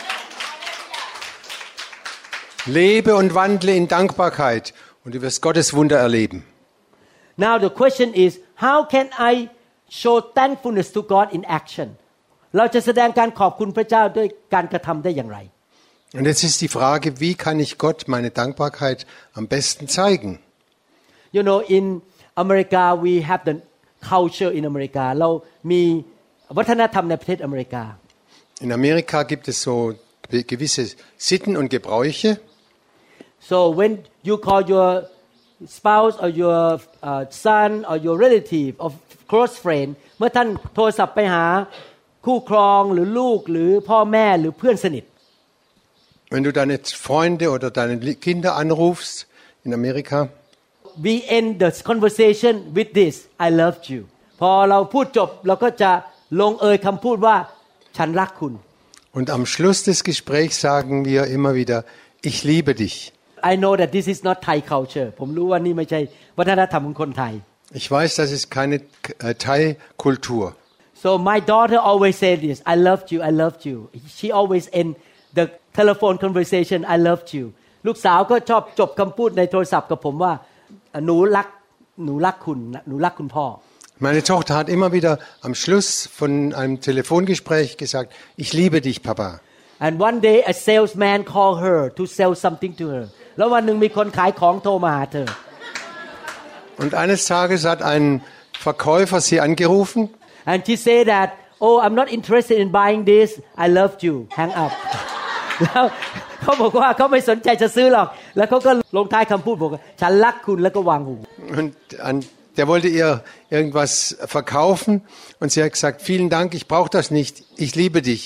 Lebe und wandle in Dankbarkeit und du wirst Gottes Wunder erleben. Now the question is how can I show thankfulness to God in action เราจะแสดงการขอบคุณพระเจ้าด้วยการกระทำได้อย่างไร Und jetzt ist die Frage, wie kann ich Gott meine Dankbarkeit am besten zeigen? You know in America we have the culture in America เรามีวัฒนธรรมในประเทศอเมริกา In Amerika gibt es so gewisse Sitten und Gebräuche. So when you call your spouse or your uh, son or your relative or close friend เมื่อท่านโทรศัพท์ไปหาคู่ครองหรือลูกหรือพ่อแม่หรือเพื่อนสนิท Wenn du deine Freunde oder deine Kinder anrufst in Amerika, we end the conversation with this I loved you พอเราพูดจบเราก็จะลงเอยคำพูดว่าฉันรักคุณ Und am Schluss des Gesprächs sagen wir immer wieder ich liebe dich. I know that this is not Thai culture ผมรู้ว่านี่ไม่ใช่วัฒนธรรมของคนไทย Ich weiß, das ist keine äh, Thai-Kultur. So my daughter always say this I loved you I loved you she always end the telephone conversation I loved you ลูกสาวก็ชอบจบคำพูดในโทรศัพท์กับผมว่าหนูรักหนูรักคุณหนูรักคุณพ่อ Meine Tochter hat immer wieder am Schluss von einem Telefongespräch gesagt, ich liebe dich, Papa. And one day a salesman called her to sell something to her. แล้ววันหนึ่งมีคนขายของโทรมาหาเธอ Und eines Tages hat ein Verkäufer sie angerufen. And she said that, oh, I'm not interested in buying this. I loved you. Hang up. แล้วเขาบอกว่าเขาไม่สนใจจะซื้อหรอก แล้วเขาก็ลงท้ายคำพูดบอกว่าฉันรักคุณแล้วก็วางหู Und an Der wollte ihr irgendwas verkaufen und sie hat gesagt, vielen Dank, ich brauche das nicht, ich liebe dich.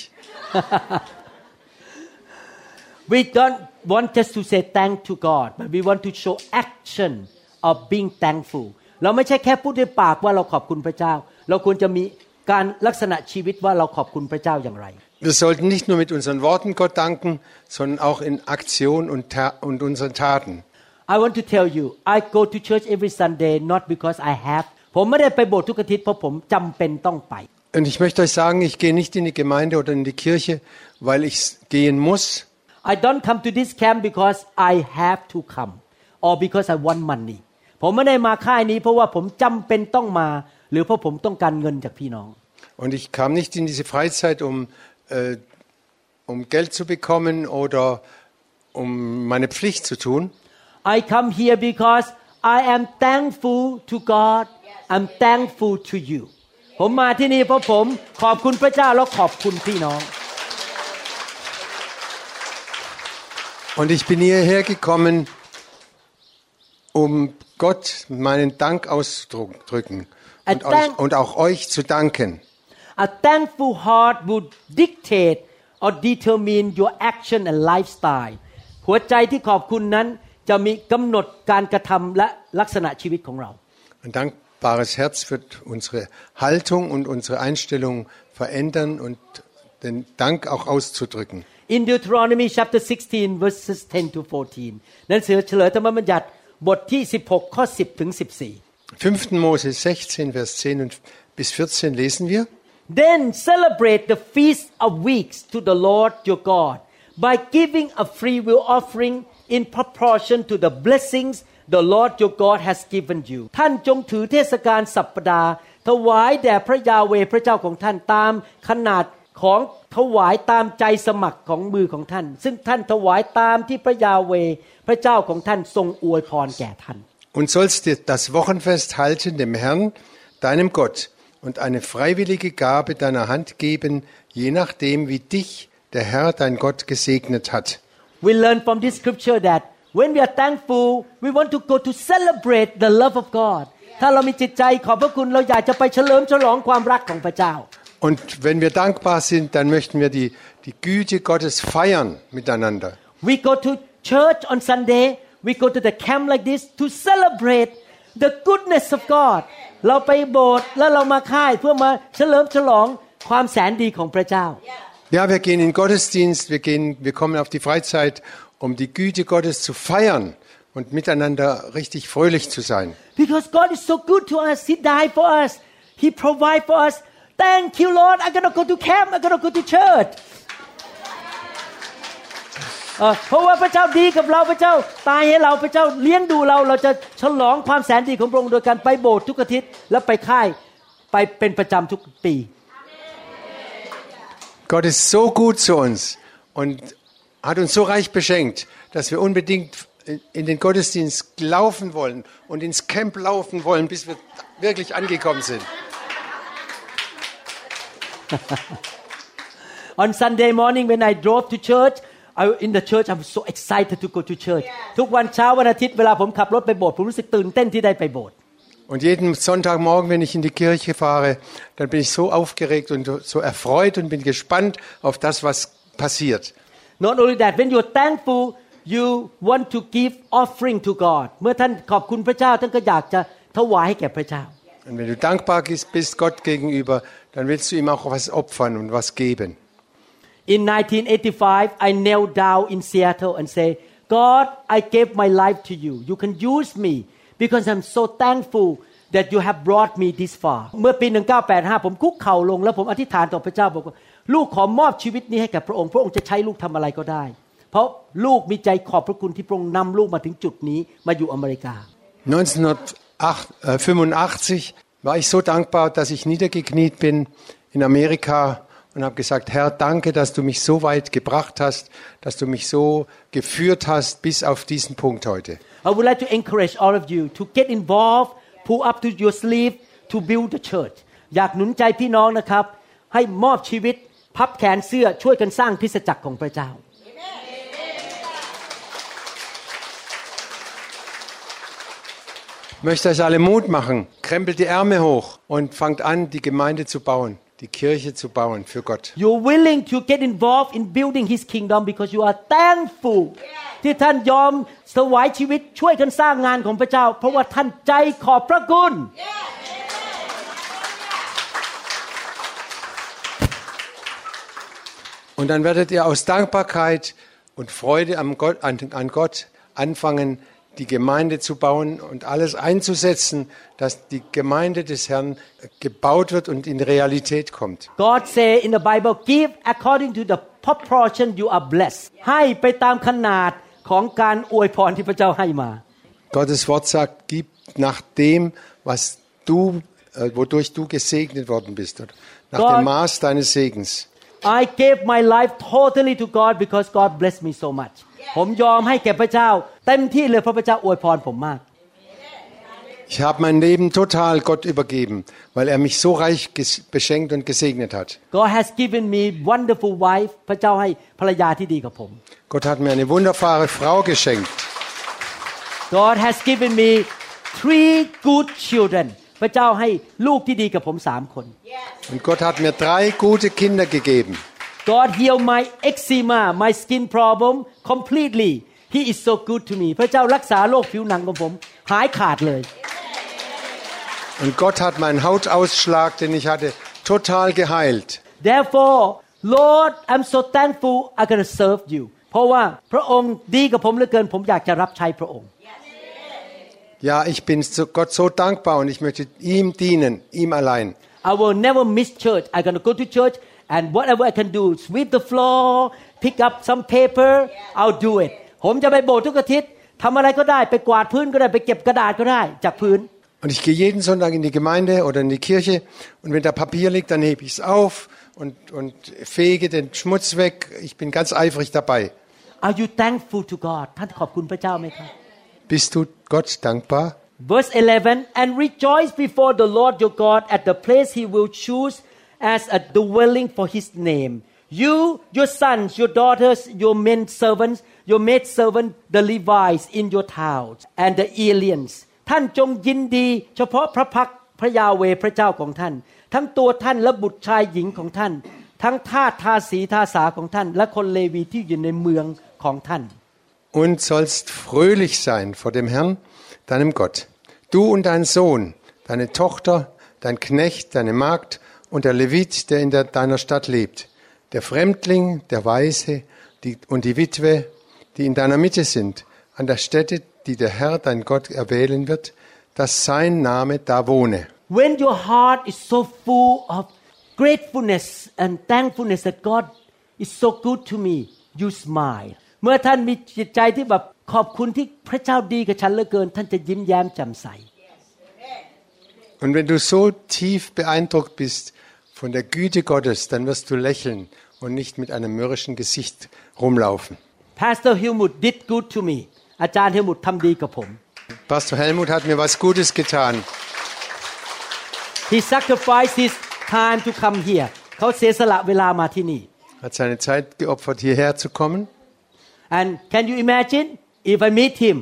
We don't want just to say thank to God, but we want to show action of being thankful. เราไม่ใช่แค่พูดด้วยปากว่าเราขอบคุณพระเจ้า เราควรจะมีการลักษณะชีวิตว่าเราขอบคุณพระเจ้าอย่างไร Wir sollten nicht nur mit unseren Worten Gott danken, sondern auch in Aktion und, Ta- und unseren Taten.I want to tell you, I go to church every Sunday not because I have. ผมไม่ได้ไปโบสถ์ทุกอาทิตย์เพราะผมจำเป็นต้องไป Und ich möchte euch sagen, ich gehe nicht in die Gemeinde oder in die Kirche, weil ich gehen muss. I don't come to this camp because I have to come or because I want money. ผมไม่ได้มาค่ายนี้เพราะว่าผมจำเป็นต้องมาหรือเพราะผมต้องการเงินจากพี่น้อง Und ich kam nicht in diese Freizeit, um, äh, um Geld zu bekommen oder um meine Pflicht zu tun.I come here because I am thankful to God. I'm thankful to you. ผมมาที่นี่เพราะผมขอบคุณพระเจ้าและขอบคุณพี่น้อง Und ich bin hierher gekommen, um Gott meinen Dank auszudrücken und, euch, und auch euch zu danken. A thankful heart would dictate or determine your action and lifestyle. หัวใจที่ขอบคุณนั้นจะมีกำหนดการกระทำและลักษณะชีวิตของเรา Ein dankbares Herz wird unsere Haltung und unsere Einstellung verändern und den Dank auch auszudrücken. In Deuteronomy chapter sixteen verses ten to fourteen หนังสือเฉลยธรรมบัญญัติบทที่สิบหกข้อสิบถึงสิบสี่ fünften Mose sechzehn Vers zehn bis vierzehn lesen wir. Then celebrate the feast of weeks to the Lord your God by giving a free will offering.In proportion to the blessings the Lord your God has given you ท่านจงถือเทศกาลสัปดาห์ถวายแด่พระยาเวห์พระเจ้าของท่านตามขนาดของถวายตามใจสมัครของมือของท่านซึ่งท่านถวายตามที่พระยาเวห์พระเจ้าของท่านทรงอวยพรแก่ท่าน Und sollst dir das Wochenfest halten dem Herrn deinem Gott und eine freiwillige Gabe deiner Hand geben je nachdem wie dich der Herr dein Gott gesegnet hat.We learn from this scripture that when we are thankful, we want to go to celebrate the love of God. ถ้าเรามีจิตใจขอบพระคุณเราอยากจะไปเฉลิมฉลองความรักของพระเจ้า Und wenn wir dankbar sind, dann möchten wir die die Güte Gottes feiern miteinander. We go to church on Sunday, we go to the camp like this to celebrate the goodness of God. เราไปโบสถ์แล้วเรามาค่ายเพื่อมาเฉลิมฉลองความแสนดีของพระเจ้า Ja, wir gehen in den Gottesdienst, wir gehen, wir kommen auf die Freizeit, um die Güte Gottes zu feiern und miteinander richtig fröhlich zu sein. Because God is so good to us, He died for us, He provide for us. Thank you, Lord. I'm gonna go to camp. I'm gonna go to church. เพราะว่าพระเจ้าดีกับเราพระเจ้าตายให้เราพระเจ้าเลี้ยงดูเราเราจะฉลองความแสนดีของพระองค์โดยการไปโบสถ์ทุกอาทิตย์และไปค่ายไปเป็นประจำทุกปี Gott ist so gut zu uns und hat uns so reich beschenkt, dass wir unbedingt in den Gottesdienst laufen wollen und ins Camp laufen wollen, bis wir wirklich angekommen sind. On Sunday morning when I drove to church, I, in the church I'm so excited to go to church. ทุกวันเช้าวันอาทิตย์เวลาผมขับรถไปโบสถ์ผมรู้สึกตื่นเต้นที่ได้ไปโบสถ์ Und jeden Sonntagmorgen, wenn ich in die Kirche fahre, dann bin ich so aufgeregt und so erfreut und bin gespannt auf das, was passiert. Not only that, when you're thankful, you want to give offering to God. เมื่อท่านขอบคุณพระเจ้าท่านก็อยากจะถวายให้แก่พระเจ้า Und wenn du dankbar bist Gott gegenüber, dann willst du ihm auch was opfern und was geben. In nineteen eighty-five, I knelt down in Seattle and say, God, I gave my life to you. You can use me because I'm so thankful that you have brought me this far. เมื่อปีหนึ่งพันเก้าร้อยแปดสิบห้าผมคุกเข่าลงแล้วผมอธิษฐานต่อพระเจ้าบอกว่าลูกขอมอบชีวิตนี้ให้แก่พระองค์พระองค์จะใช้ลูกทำอะไรก็ได้เพราะลูกมีใจขอบพระคุณที่พระองค์นำลูกมาถึงจุดนี้มาอยู่อเมริกา neunzehnhundertfünfundachtzig war ich so dankbar, dass ich niedergekniet bin in Amerika und habe gesagt, Herr, danke, dass du mich so weit gebracht hast, dass du mich so geführt hast bis auf diesen Punkt heute. I would like to encourage all of you to get involved, pull up to your sleeve to build the church. อยากหนุนใจพี่น้องนะครับให้มอบชีวิตพับแขนเสื้อช่วยกันสร้างคริสตจักรของพระเจ้า Ich möchte euch alle Mut machen. Krempelt die Ärmel hoch und fangt an, die Gemeinde zu bauen, die Kirche zu bauen für Gott. You're willing to get involved in building His kingdom because you are thankful. ที่ท่านยอมถวายชีวิตช่วยกันสร้างงานของพระเจ้าเพราะว่าท่านใจขอบพระคุณ Und dann werdet ihr aus Dankbarkeit und Freude an Gott, an, an Gott anfangen, die Gemeinde zu bauen und alles einzusetzen, dass die Gemeinde des Herrn gebaut wird und in Realität kommt. God say in the Bible, give according to the proportion you are blessed. ให้ไปตามขนาดของการอวยพรที่พระเจ้าให้มา Gottes Wort sagt, gib nach dem, was du, äh, wodurch du gesegnet worden bist, oder nach God, dem Maß deines Segens. I gave my life totally to God because God blessed me so much. ผมยอมให้แก่พระเจ้าเต็มที่เลยเพราะพระเจ้าอวยพรผมมาก Ich habe mein Leben total Gott übergeben, weil er mich so reich beschenkt und gesegnet hat. God has given me wonderful wife. พระเจ้าให้ภรรยาที่ดีกับผม Gott hat mir eine wunderbare Frau geschenkt. God has given me three good children. พระเจ้าให้ลูกที่ดีกับผมสามคน Und Gott hat mir drei gute Kinder gegeben. God healed my eczema, my skin problem completely. He is so good to me. พระเจ้ารักษาโรคผิวหนังของผมหายขาดเลย Und Gott hat meinen Hautausschlag, den ich hatte, total geheilt. Therefore, Lord, I'm so thankful I'm going to serve you. เพราะว่าพระองค์ดีกับผมเหลือเกินผมอยากจะรับใช้พระองค์ Ja, ich bin Gott so dankbar und ich möchte ihm dienen, ihm allein. I will never miss church. I'm going to go to church and whatever I can do, sweep the floor, pick up some paper, I'll do it. ผมจะไปโบสถ์ทุกอาทิตย์ทำอะไรก็ได้ไปกวาดพื้นก็ได้ไปเก็บกระดาษก็ได้จากพื้น Und ich gehe jeden Sonntag in die Gemeinde oder in die Kirche und wenn da Papier liegt, dann hebe ich es auf und, und fege den Schmutz weg. Ich bin ganz eifrig dabei. Are you thankful to God? ท่านขอบคุณพระเจ้าไหมครับ Bist du Gott dankbar? Verse eleven, and rejoice before the Lord your God at the place he will choose as a dwelling for his name. You, your sons, your daughters, your men servants, your maid servant, the Levites in your towns, and the aliens. ท่านจงยินดีเฉพาะพระพักพระยาเวห์พระเจ้าของท่านทั้งตัวท่านและบุตรชายหญิงของท่านทั้งทาสทาสีทาสาของท่านและคนเลวีที่อยู่ในเมืองของท่าน Und sollst fröhlich sein vor dem Herrn, deinem Gott. Du und dein Sohn, deine Tochter, dein Knecht, deine Magd und der Levit, der in der, deiner Stadt lebt, der Fremdling, der Waise die, und die Witwe, die in deiner Mitte sind, an der Stätte, die der Herr, dein Gott, erwählen wird, dass sein Name da wohne. When your heart is so full of gratefulness and thankfulness that God is so good to me, you smile. เมื่อท่านมีจิตใจที่แบบขอบคุณที่พระเจ้าดีกับฉันเหลือเกินท่านจะยิ้มแย้มแจ่มใส Und wenn du so tief beeindruckt bist von der Güte Gottes, dann wirst du lächeln und nicht mit einem mürrischen Gesicht rumlaufen. Pastor Helmut did good to me อาจารย์ Helmut ทำดีกับผม Pastor Helmut hat mir was Gutes getan. He sacrificed his time to come here เขาเสียสละเวลามาที่นี่ Hat seine Zeit geopfert, hierher zu kommen. And can you imagine if I meet him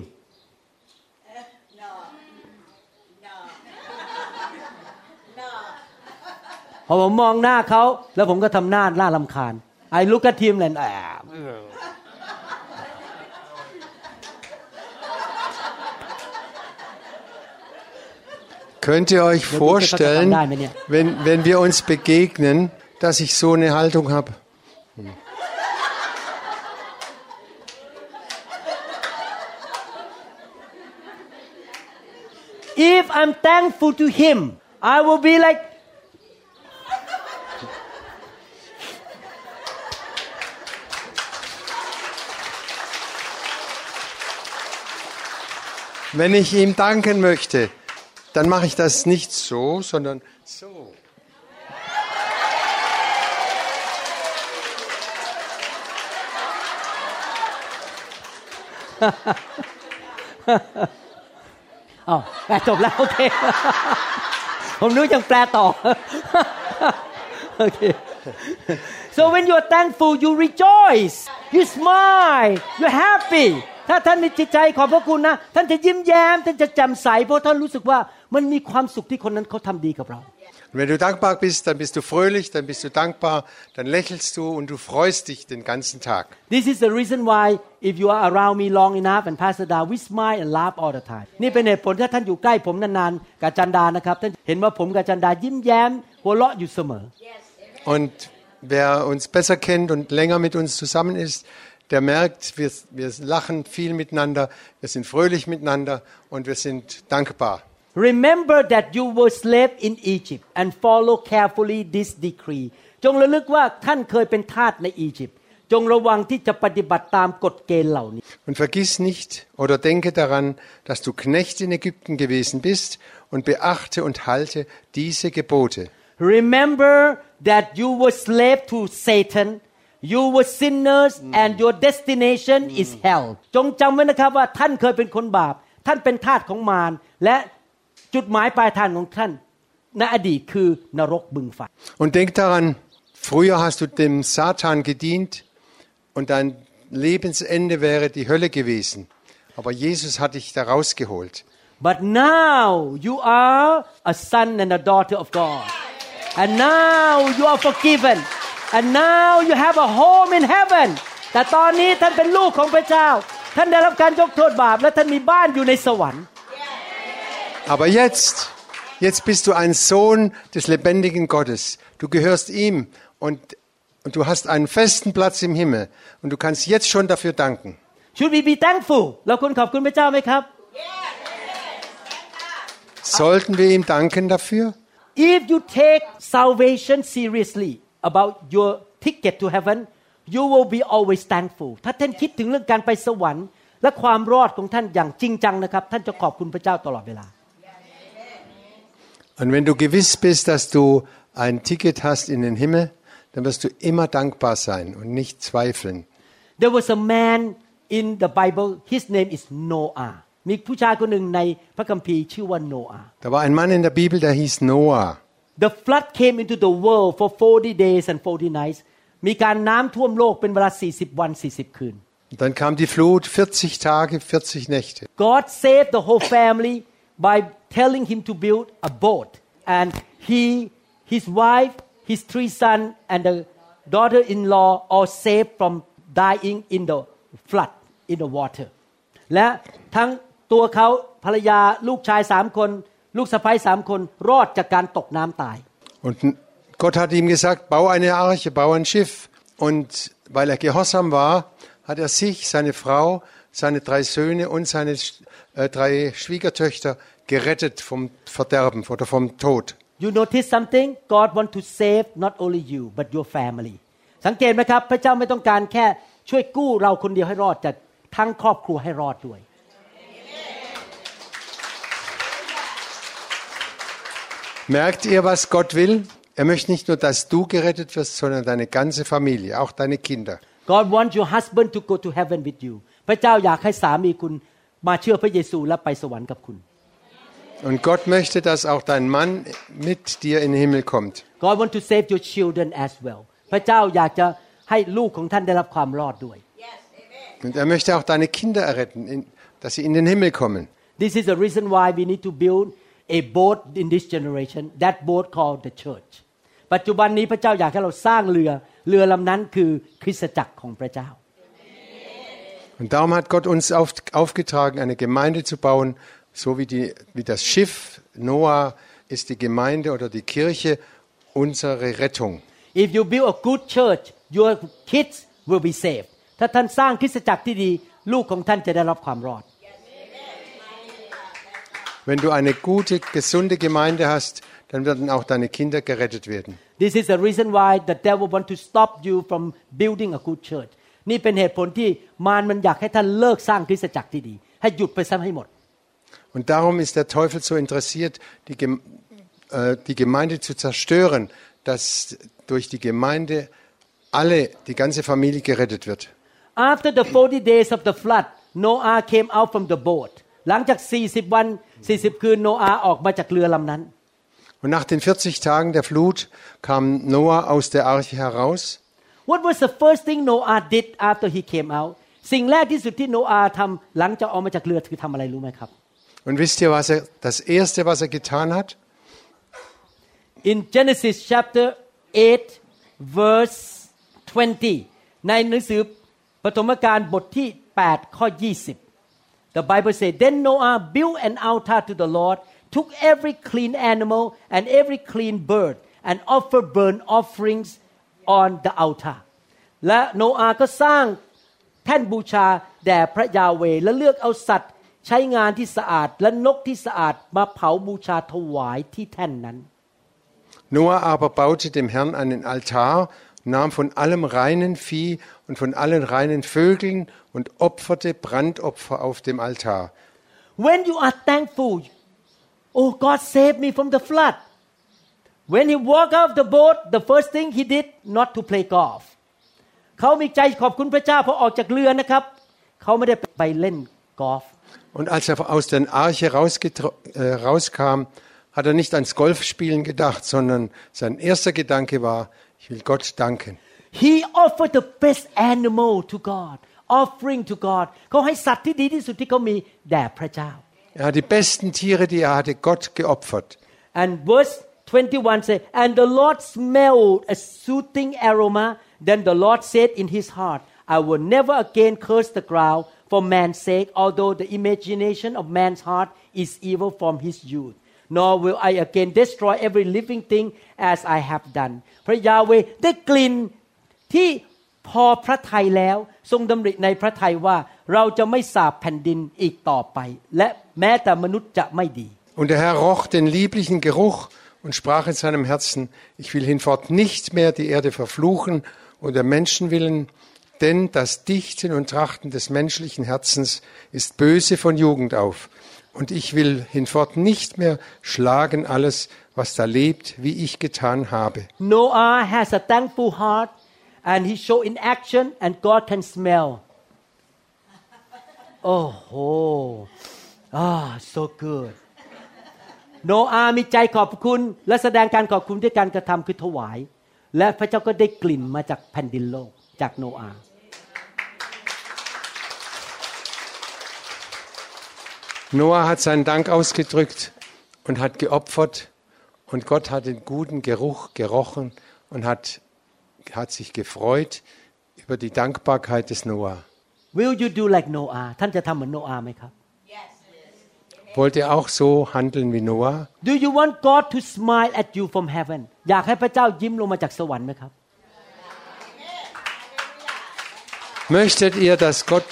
พอผมมองหน้าเขาแล้วผมก็ทำหน้าหน้ารำคาญ I look at him and ah Könnt ihr euch vorstellen, wenn, wenn wir uns begegnen, dass ich so eine Haltung habe? If I'm thankful to him, I will be like Wenn ich ihm danken möchte, dann mache ich das nicht so, sondern so. Oh, จบแล้วโอเค ผมนึกยังแปลต่อ โอเค So when you're thankful you rejoice you smile you're happy ถ้าท่านมีจิตใจขอบพระคุณนะท่านจะยิ้มแย้มท่านจะแจ่มใสเพราะท่านรู้สึกว่ามันมีความสุขที่คนนั้นเขาทำดีกับเรา Und wenn du dankbar bist, dann bist du fröhlich, dann bist du dankbar, dann lächelst du und du freust dich den ganzen Tag. This is the reason why if you are around me long enough and Pastor Da we smile and laugh all the time นี่เป็นเหตุผลถ้าท่านอยู่ใกล้ผมนานๆกับจันดานะครับท่านเห็นว่าผมกับจันดายิ้มแย้มหัวเราะอยู่เสมอ Und wer uns besser kennt und länger mit uns zusammen ist, der merkt, wir, wir lachen viel miteinander, wir sind fröhlich miteinander und wir sind dankbar.Remember that you were slave in Egypt and follow carefully this decree จงระลึกว่าท่านเคยเป็นทาสในอียิปต์จงระวังที่จะปฏิบัติตามกฎเกณฑ์เหล่านี้ Und vergiss nicht oder denke daran, dass du Knecht in Ägypten gewesen bist und beachte und halte diese Gebote. Remember that you were slave to Satan, you were sinners and your destination is hell จงจำไว้นะครับว่าท่านเคยเป็นคนบาปท่านเป็นทาสของมารและจุดหมายปลายทางของท่านในอดีตคือนรกบึงไฟ Und denk daran, früher hast du dem Satan gedient und dein Lebensende wäre die Hölle gewesen. Aber Jesus hat dich da rausgeholt. But now you are a son and a daughter of God. And now you are forgiven. And now you have a home in heaven. แต่ตอนนี้ท่านเป็นลูกของพระเจ้าท่านได้รับการยกโทษบาปและท่านมีบ้านอยู่ในสวรรค์ Aber jetzt, jetzt bist du ein Sohn des lebendigen Gottes. Du gehörst ihm und, und du hast einen festen Platz im Himmel. Und du kannst jetzt schon dafür danken. Should we be thankful? เราควรขอบคุณพระเจ้าไหมครับ Sollten wir ihm danken dafür? If you take salvation seriously about your ticket to heaven, you will be always thankful. ถ้าท่านคิดถึงเรื่องการไปสวรรค์และความรอดของท่านอย่างจริงจังนะครับท่านจะขอบคุณพระเจ้าตลอดเวลา Und wenn du gewiss bist, dass du ein Ticket hast in den Himmel, dann wirst du immer dankbar sein und nicht zweifeln. There was a man in the Bible. His name is Noah. มีผู้ชายคนหนึ่งในพระคัมภีร์ชื่อว่าโนอาห์ Da war ein Mann in der Bibel, der hieß Noah. The flood came into the world for forty days and forty nights. มีการน้ำท่วมโลกเป็นเวลาสี่สิบวันสี่สิบคืน Und dann kam die Flut, vierzig Tage, vierzig Nächte. God saved the whole family by telling him to build a boat, and he, his wife, his three sons, and the daughter-in-law all saved from dying in the flood in the water. และทั้งตัวเขาภรรยาลูกชายสามคนลูกสะใภ้สามคนรอดจากการตกน้ำตาย Und Gott hat ihm gesagt, bau eine Arche, bau ein Schiff. Und weil er gehorsam war, hat er sich, seine Frau, seine drei Söhne und seine äh, drei Schwiegertöchter gerettet vom Verderben oder vom Tod. You notice something? God want to save not only you but your family. สังเกตไหมครับพระเจ้าไม่ต้องการแค่ช่วยกู้เราคนเดียวให้รอดแต่ทั้งครอบครัวให้รอดด้วย Merkt ihr, was Gott will? Er möchte nicht nur, dass du gerettet wirst, sondern deine ganze Familie, auch deine Kinder. God wants your husband to go to heaven with you พระเจ้าอยากให้สามีคุณมาเชื่อพระเยซูและไปสวรรค์กับคุณ Und Gott möchte, dass auch dein Mann mit dir in den Himmel kommt. God want to save your children as well พระเจ้าอยากจะให้ลูกของท่านได้รับความรอดด้วย Und er möchte auch deine Kinder erretten, dass sie in den Himmel kommen. This is the reason why we need to build a boat in this generation that boat called the church ปัจจุบันนี้พระเจ้าอยากให้เราสร้างเรือเรือลำนั้นคือคริสตจักรของพระเจ้า Und darum hat Gott uns auf, aufgetragen, eine Gemeinde zu bauen, so wie, die, wie das Schiff Noah ist die Gemeinde oder die Kirche unsere Rettung. If you build a good church your kids will be saved ถ้าท่านสร้างคริสตจักรที่ดีลูกของท่านจะได้รับความรอด Wenn du eine gute, gesunde Gemeinde hast, dann werden auch deine Kinder gerettet werden. This is the reason why the devil want to stop you from building a good church นี่เป็นเหตุผลที่มารมันอยากให้ท่านเลิกสร้างคริสตจักรที่ดีให้หยุดไปซะให้หมด Und darum ist der Teufel so interessiert, die, äh, die Gemeinde zu zerstören, dass durch die Gemeinde alle, die ganze Familie gerettet wird. After the forty days of the flood Noah came out from the boat หลังจากสี่สิบวันสี่สิบคืนโนอาห์ออกมาจากเรือลำนั้น Und nach den vierzig Tagen der Flut kam Noah aus der Arche heraus. What was the first thing Noah did after he came out สิ่งแรกที่สุดที่โนอาห์ทำหลังจากออกมาจากเรือคือทำอะไรรู้ไหมครับ Und wisst ihr, was er, das erste, was er getan hat? In Genesis chapter eight verse twenty ในหนังสือปฐมกาลบทที่แปดข้อยี่สิบ The Bible says then Noah built an altar to the Lord took every clean animal and every clean bird and offered burnt offerings on the altar และโนอาห์ก็สร้างแท่นบูชาแด่พระยาเวห์และเลือกเอาสัตว์ใช้งานที่สะอาดและนกที่สะอาดมาเผาบูชาถวายที่แท่นนั้น Noah aber baute dem Herrn einen Altar, nahm von allem reinen Vieh und von allen reinen Vögeln und opferte Brandopfer auf dem Altar. When you are thankful, oh God saved me from the flood. When he walked out of the boat, the first thing he did not to play golf. เขามีใจขอบคุณพระเจ้าพอออกจากเรือนะครับเขาไม่ได้ไปเล่นกอล์ฟ Und als er aus der Arche äh, rauskam, hat er nicht ans Golfspielen gedacht, sondern sein erster Gedanke war, ich will Gott danken. He offered the best animal to God, offering to God. เขาให้สัตว์ที่ดีที่สุดที่เขามีแด่พระเจ้า Er hat die besten Tiere, die er hatte, Gott geopfert. And verse twenty-one says, and the Lord smelled a soothing aroma. Then the Lord said in his heart, I will never again curse the ground for man's sake, although the imagination of man's heart is evil from his youth. Nor will I again destroy every living thing as I have done. พระยาเวห์ได้กลิ่นที่พอพระทัยแล้วทรงดำริในพระทัยว่าเราจะไม่สาปแผ่นดินอีกต่อไปและแม้แต่มนุษย์จะไม่ดี Und der Herr roch den lieblichen Geruch und sprach in seinem Herzen, ich will hinfort nicht mehr die Erde verfluchen und der Menschen willen, denn das Dichten und Trachten des menschlichen Herzens ist böse von Jugend auf. Und ich will hinfort nicht mehr schlagen alles, was da lebt, wie ich getan habe. Noah has a thankful heart and he show in action and God can smell. Oh, ah, so good. โนอาห์มีใจขอบคุณและแสดงการขอบคุณด้วยการกระทำคือถวายและพระเจ้าก็ได้กลิ่นมาจากแผ่นดินโลกจากโนอาห์ Noah hat seinen Dank ausgedrückt und hat geopfert und Gott hat den guten Geruch gerochen und hat, hat sich gefreut über die Dankbarkeit des Noah. Will you do like Noah? ท่านจะทำเหมือนโนอาห์ไหมครับ Wollt ihr auch so handeln wie Noah? Do you want God to smile at you from heaven? อยากให้พระเจ้ายิ้มลงมาจากสวรรค์ไหมครับ Möchtet ihr, dass Gott,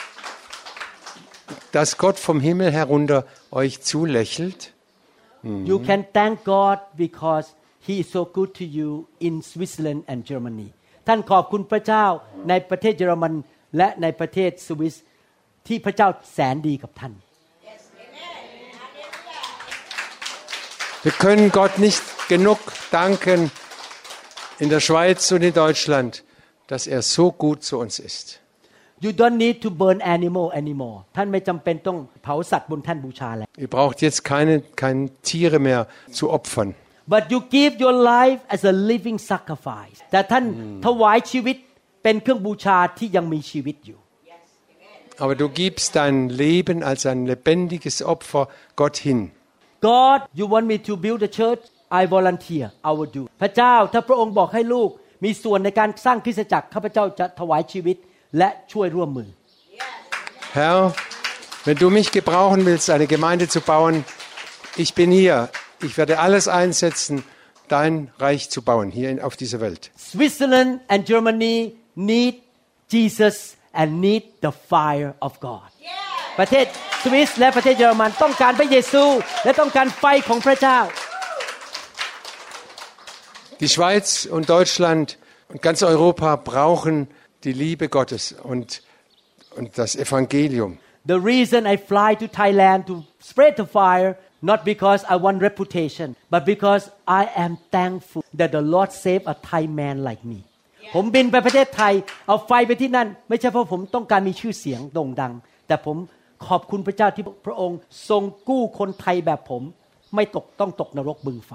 dass Gott vom Himmel herunter euch zulächelt? Mhm. You can thank God because He is so good to you in Switzerland and Germany. ท่านขอบคุณพระเจ้าในประเทศเยอรมันและในประเทศสวิสที่พระเจ้าแสนดีกับท่าน Wir können Gott nicht genug danken in der Schweiz und in Deutschland, dass er so gut zu uns ist. You don't need to burn animal anymore. ท่านไม่จำเป็นต้องเผาสัตว์บนแท่นบูชาแล้ว Ihr braucht jetzt keine, keine Tiere mehr zu opfern. But you give your life as a living sacrifice. แต่ท่านถวายชีวิตเป็นเครื่องบูชาที่ยังมีชีวิตอยู่ Aber du gibst dein Leben als ein lebendiges Opfer Gott hin. God, you want me to build a church? I volunteer. I will do. พระเจ้าถ้าพระองค์บอกให้ลูกมีส่วนในการสร้างคริสตจักรข้าพเจ้าจะถวายชีวิตและช่วยร่วมมือ Herr, wenn du mich gebrauchen willst, eine Gemeinde zu bauen, ich bin hier. Ich werde alles einsetzen, dein Reich zu bauen hier in, auf dieser Welt. Switzerland and Germany need Jesus and need the fire of God. ประเทศสวิสและประเทศเยอรมันต้องการพระเยซูและต้องการไฟของพระเจ้า Die Schweiz und Deutschland und ganz Europa brauchen die Liebe Gottes und, und das Evangelium. The reason I fly to Thailand to spread the fire not because I want reputation but because I am thankful that the Lord saved a Thai man like me ผมบินไปประเทศไทยเอาไฟไปที่นั่นไม่ใช่เพราะผมต้องการมีชื่อเสียงโด่งดังแต่ผมขอบคุณพระเจ้าที่พระองค์ทรงกู้คนไทยแบบผมไม่ตกต้องตกนรกบึงไฟ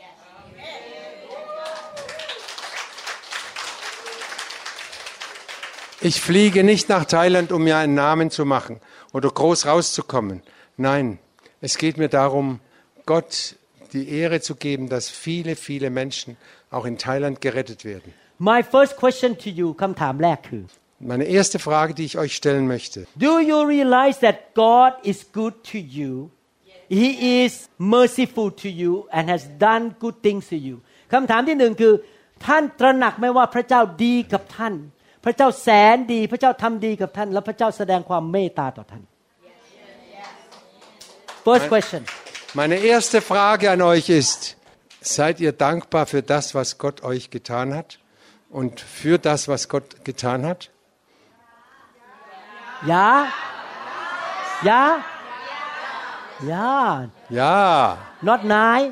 Ich fliege nicht nach Thailand, um mir einen Namen zu machen oder groß rauszukommen. Nein, es geht mir darum, Gott die Ehre zu geben, dass viele, viele Menschen auch in Thailand gerettet werden. My first question to you คำถามแรกคือ Meine erste Frage, die ich euch stellen möchte. Do you realize that God is good to you? He is merciful to you and has done good things to you. คำถามที่หนึ่งคือท่านตระหนักไหมว่าพระเจ้าดีกับท่านพระเจ้าแสนดีพระเจ้าทำดีกับท่านและพระเจ้าแสดงความเมตตาต่อท่าน First question. Meine erste Frage an euch ist, seid ihr dankbar für das, was Gott euch getan hat und für das, was Gott getan hat? Ja? Ja? Ja. Ja. Not nine.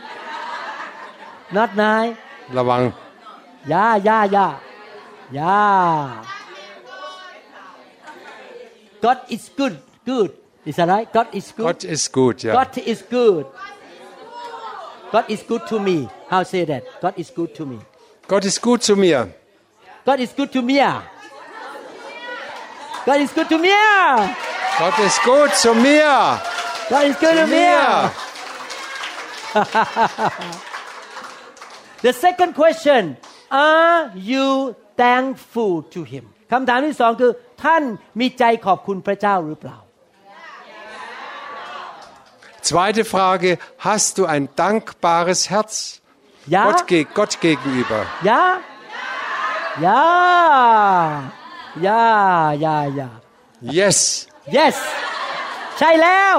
Not nine. Lawang. Ja, ja, ja. Ja. God is good. Good. Is that right? God is good. Gott ist gut, ja. God is good. God is good to me. How say that? God is good to me. Gott ist gut zu mir. God is good to me. God is good to me. Gott ist gut zu mir. God is good to me. The second question, are you thankful to him คำถามที่สองคือท่านมีใจขอบคุณพระเจ้าหรือเปล่า Zweite Frage, hast du ein dankbares Herz Ja. Gott, ge Gott gegenüber? Ja Ja Ja Ja Ja Yes. Yes ใช่แล้ว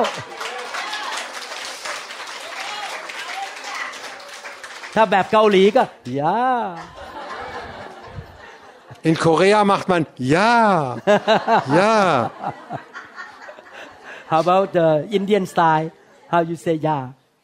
ถ้าแบบเกาหลีก็ Ja In Korea macht man ja. Ja. How about the Indian style? How you say ja?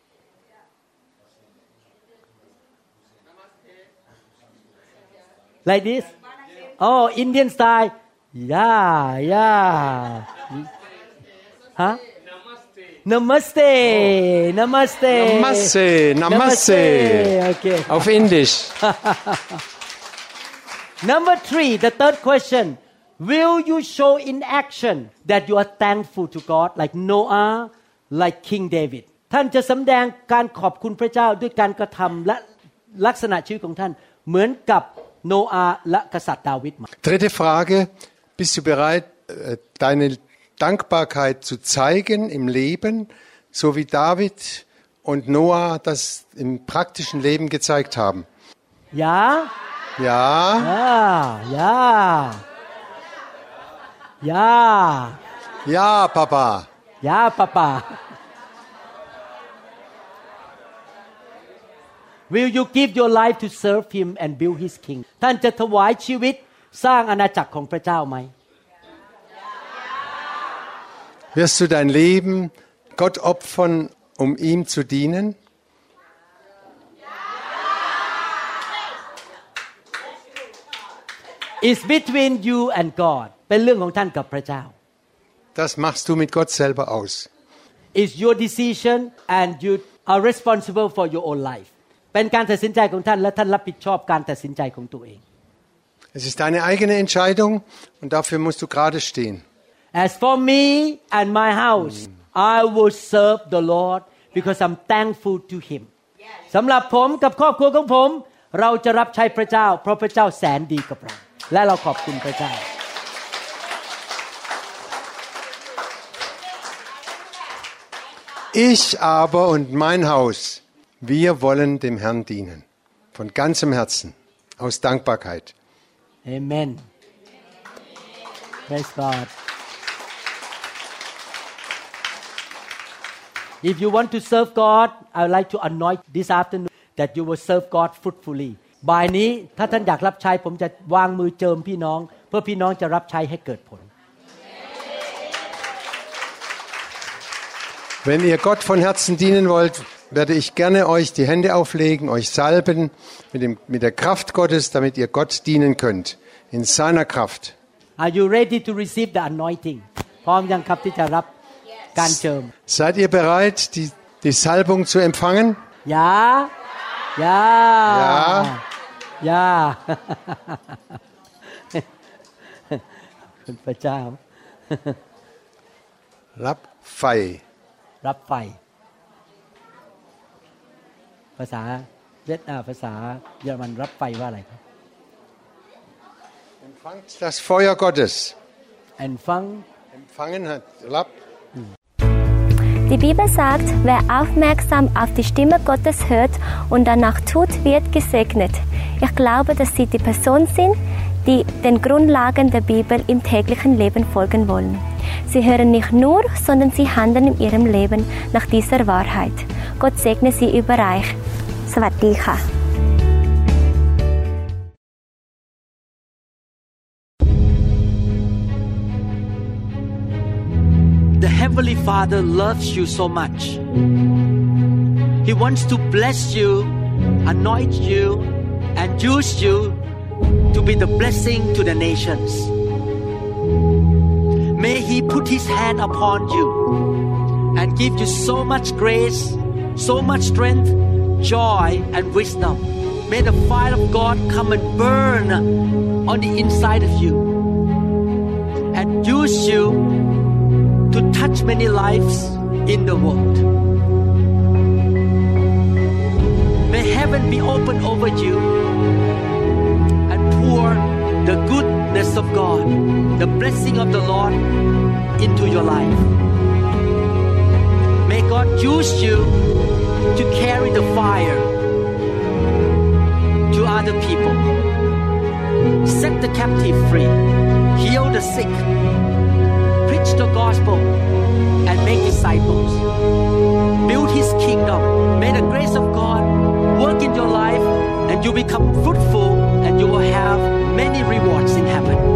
Like this? Oh, Indian style. Yeah, yeah. Huh? Namaste. Namaste. Namaste. Namaste. Okay. Auf Indisch. Number three, the third question. Will you show in action that you are thankful to God like Noah, like King David? ท่านจะสำแดงการขอบคุณพระเจ้าด้วยการกระทำและลักษณะชีวิตของท่านเหมือนกับโนอาห์และกษัตริย์ดาวิด Dritte Frage, bist du bereit, deine Dankbarkeit zu zeigen im Leben, so wie David und Noah das im praktischen Leben gezeigt haben? Ja? Ja. Ja, ja. Ja. Ja, Papa. Ja, Papa. Will you give your life to serve him and build his kingdom? ท่านจะถวายชีวิตสร้างอาณาจักรของพระเจ้าไหม Wirst du dein Leben Gott opfern, um ihm zu dienen? It's between you and God เป็นเรื่องของท่านกับพระเจ้า Das machst du mit Gott selber aus. It's your decision and you are responsible for your own life เป็นการตัดสินใจของท่านและท่านรับผิดชอบการตัดสินใจของตัวเอง Es ist deine eigene Entscheidung und dafür musst du gerade stehen. As for me and my house I will serve the Lord because I'm thankful to him สำหรับผมกับครอบครัวของผมเราจะรับใช้พระเจ้าเพราะพระเจ้าแสนดีกับเราและเราขอบคุณพระเจ้า Ich aber und mein Haus, wir wollen dem Herrn dienen. Von ganzem Herzen, aus Dankbarkeit. Amen. Praise God. If you want to serve God, I would like to anoint this afternoon that you will serve God fruitfully. บ่ายนี้ถ้าท่านอยากรับใช้ผมจะวางมือเจิมพี่น้องเพื่อพี่น้องจะรับใช้ให้เกิดผล Wenn ihr Gott von Herzen dienen wollt, werde ich gerne euch die Hände auflegen, euch salben mit, dem, mit der Kraft Gottes, damit ihr Gott dienen könnt, in seiner Kraft. Are you ready to receive the anointing? พร้อมยังครับที่จะรับการเจิม Seid ihr bereit, die, die Salbung zu empfangen? Ja. Ja. Ja. Ja. คุณพระเจ้ารับไฟรับไฟภาษาเวียดนามภาษาเยอรมันรับไฟว่าอะไรครับ Empfangt das Feuer Gottes. Empfang Empfangen hat, Rab. Die Bibel sagt, wer aufmerksam auf die Stimme Gottes hört und danach tut, wird gesegnet. Ich glaube, dass Sie die Person sind, die den Grundlagen der Bibel im täglichen Leben folgen wollen. Sie hören nicht nur, sondern sie handeln in ihrem Leben nach dieser Wahrheit. Gott segne Sie überreich. สวัสดีค่ะ The Heavenly Father loves you so much. He wants to bless you, anoint you, and use you to be the blessing to the nations. May He put His hand upon you and give you so much grace, so much strength, joy, and wisdom. May the fire of God come and burn on the inside of you and use you to touch many lives in the world. May heaven be open over you and pour the goodness of God, the blessing of the Lord into your life. May God use you to carry the fire to other people. Set the captive free, heal the sick, preach the gospel, and make disciples. Build His kingdom. May the grace of God work in your life and you become fruitful and you will have many rewards in heaven.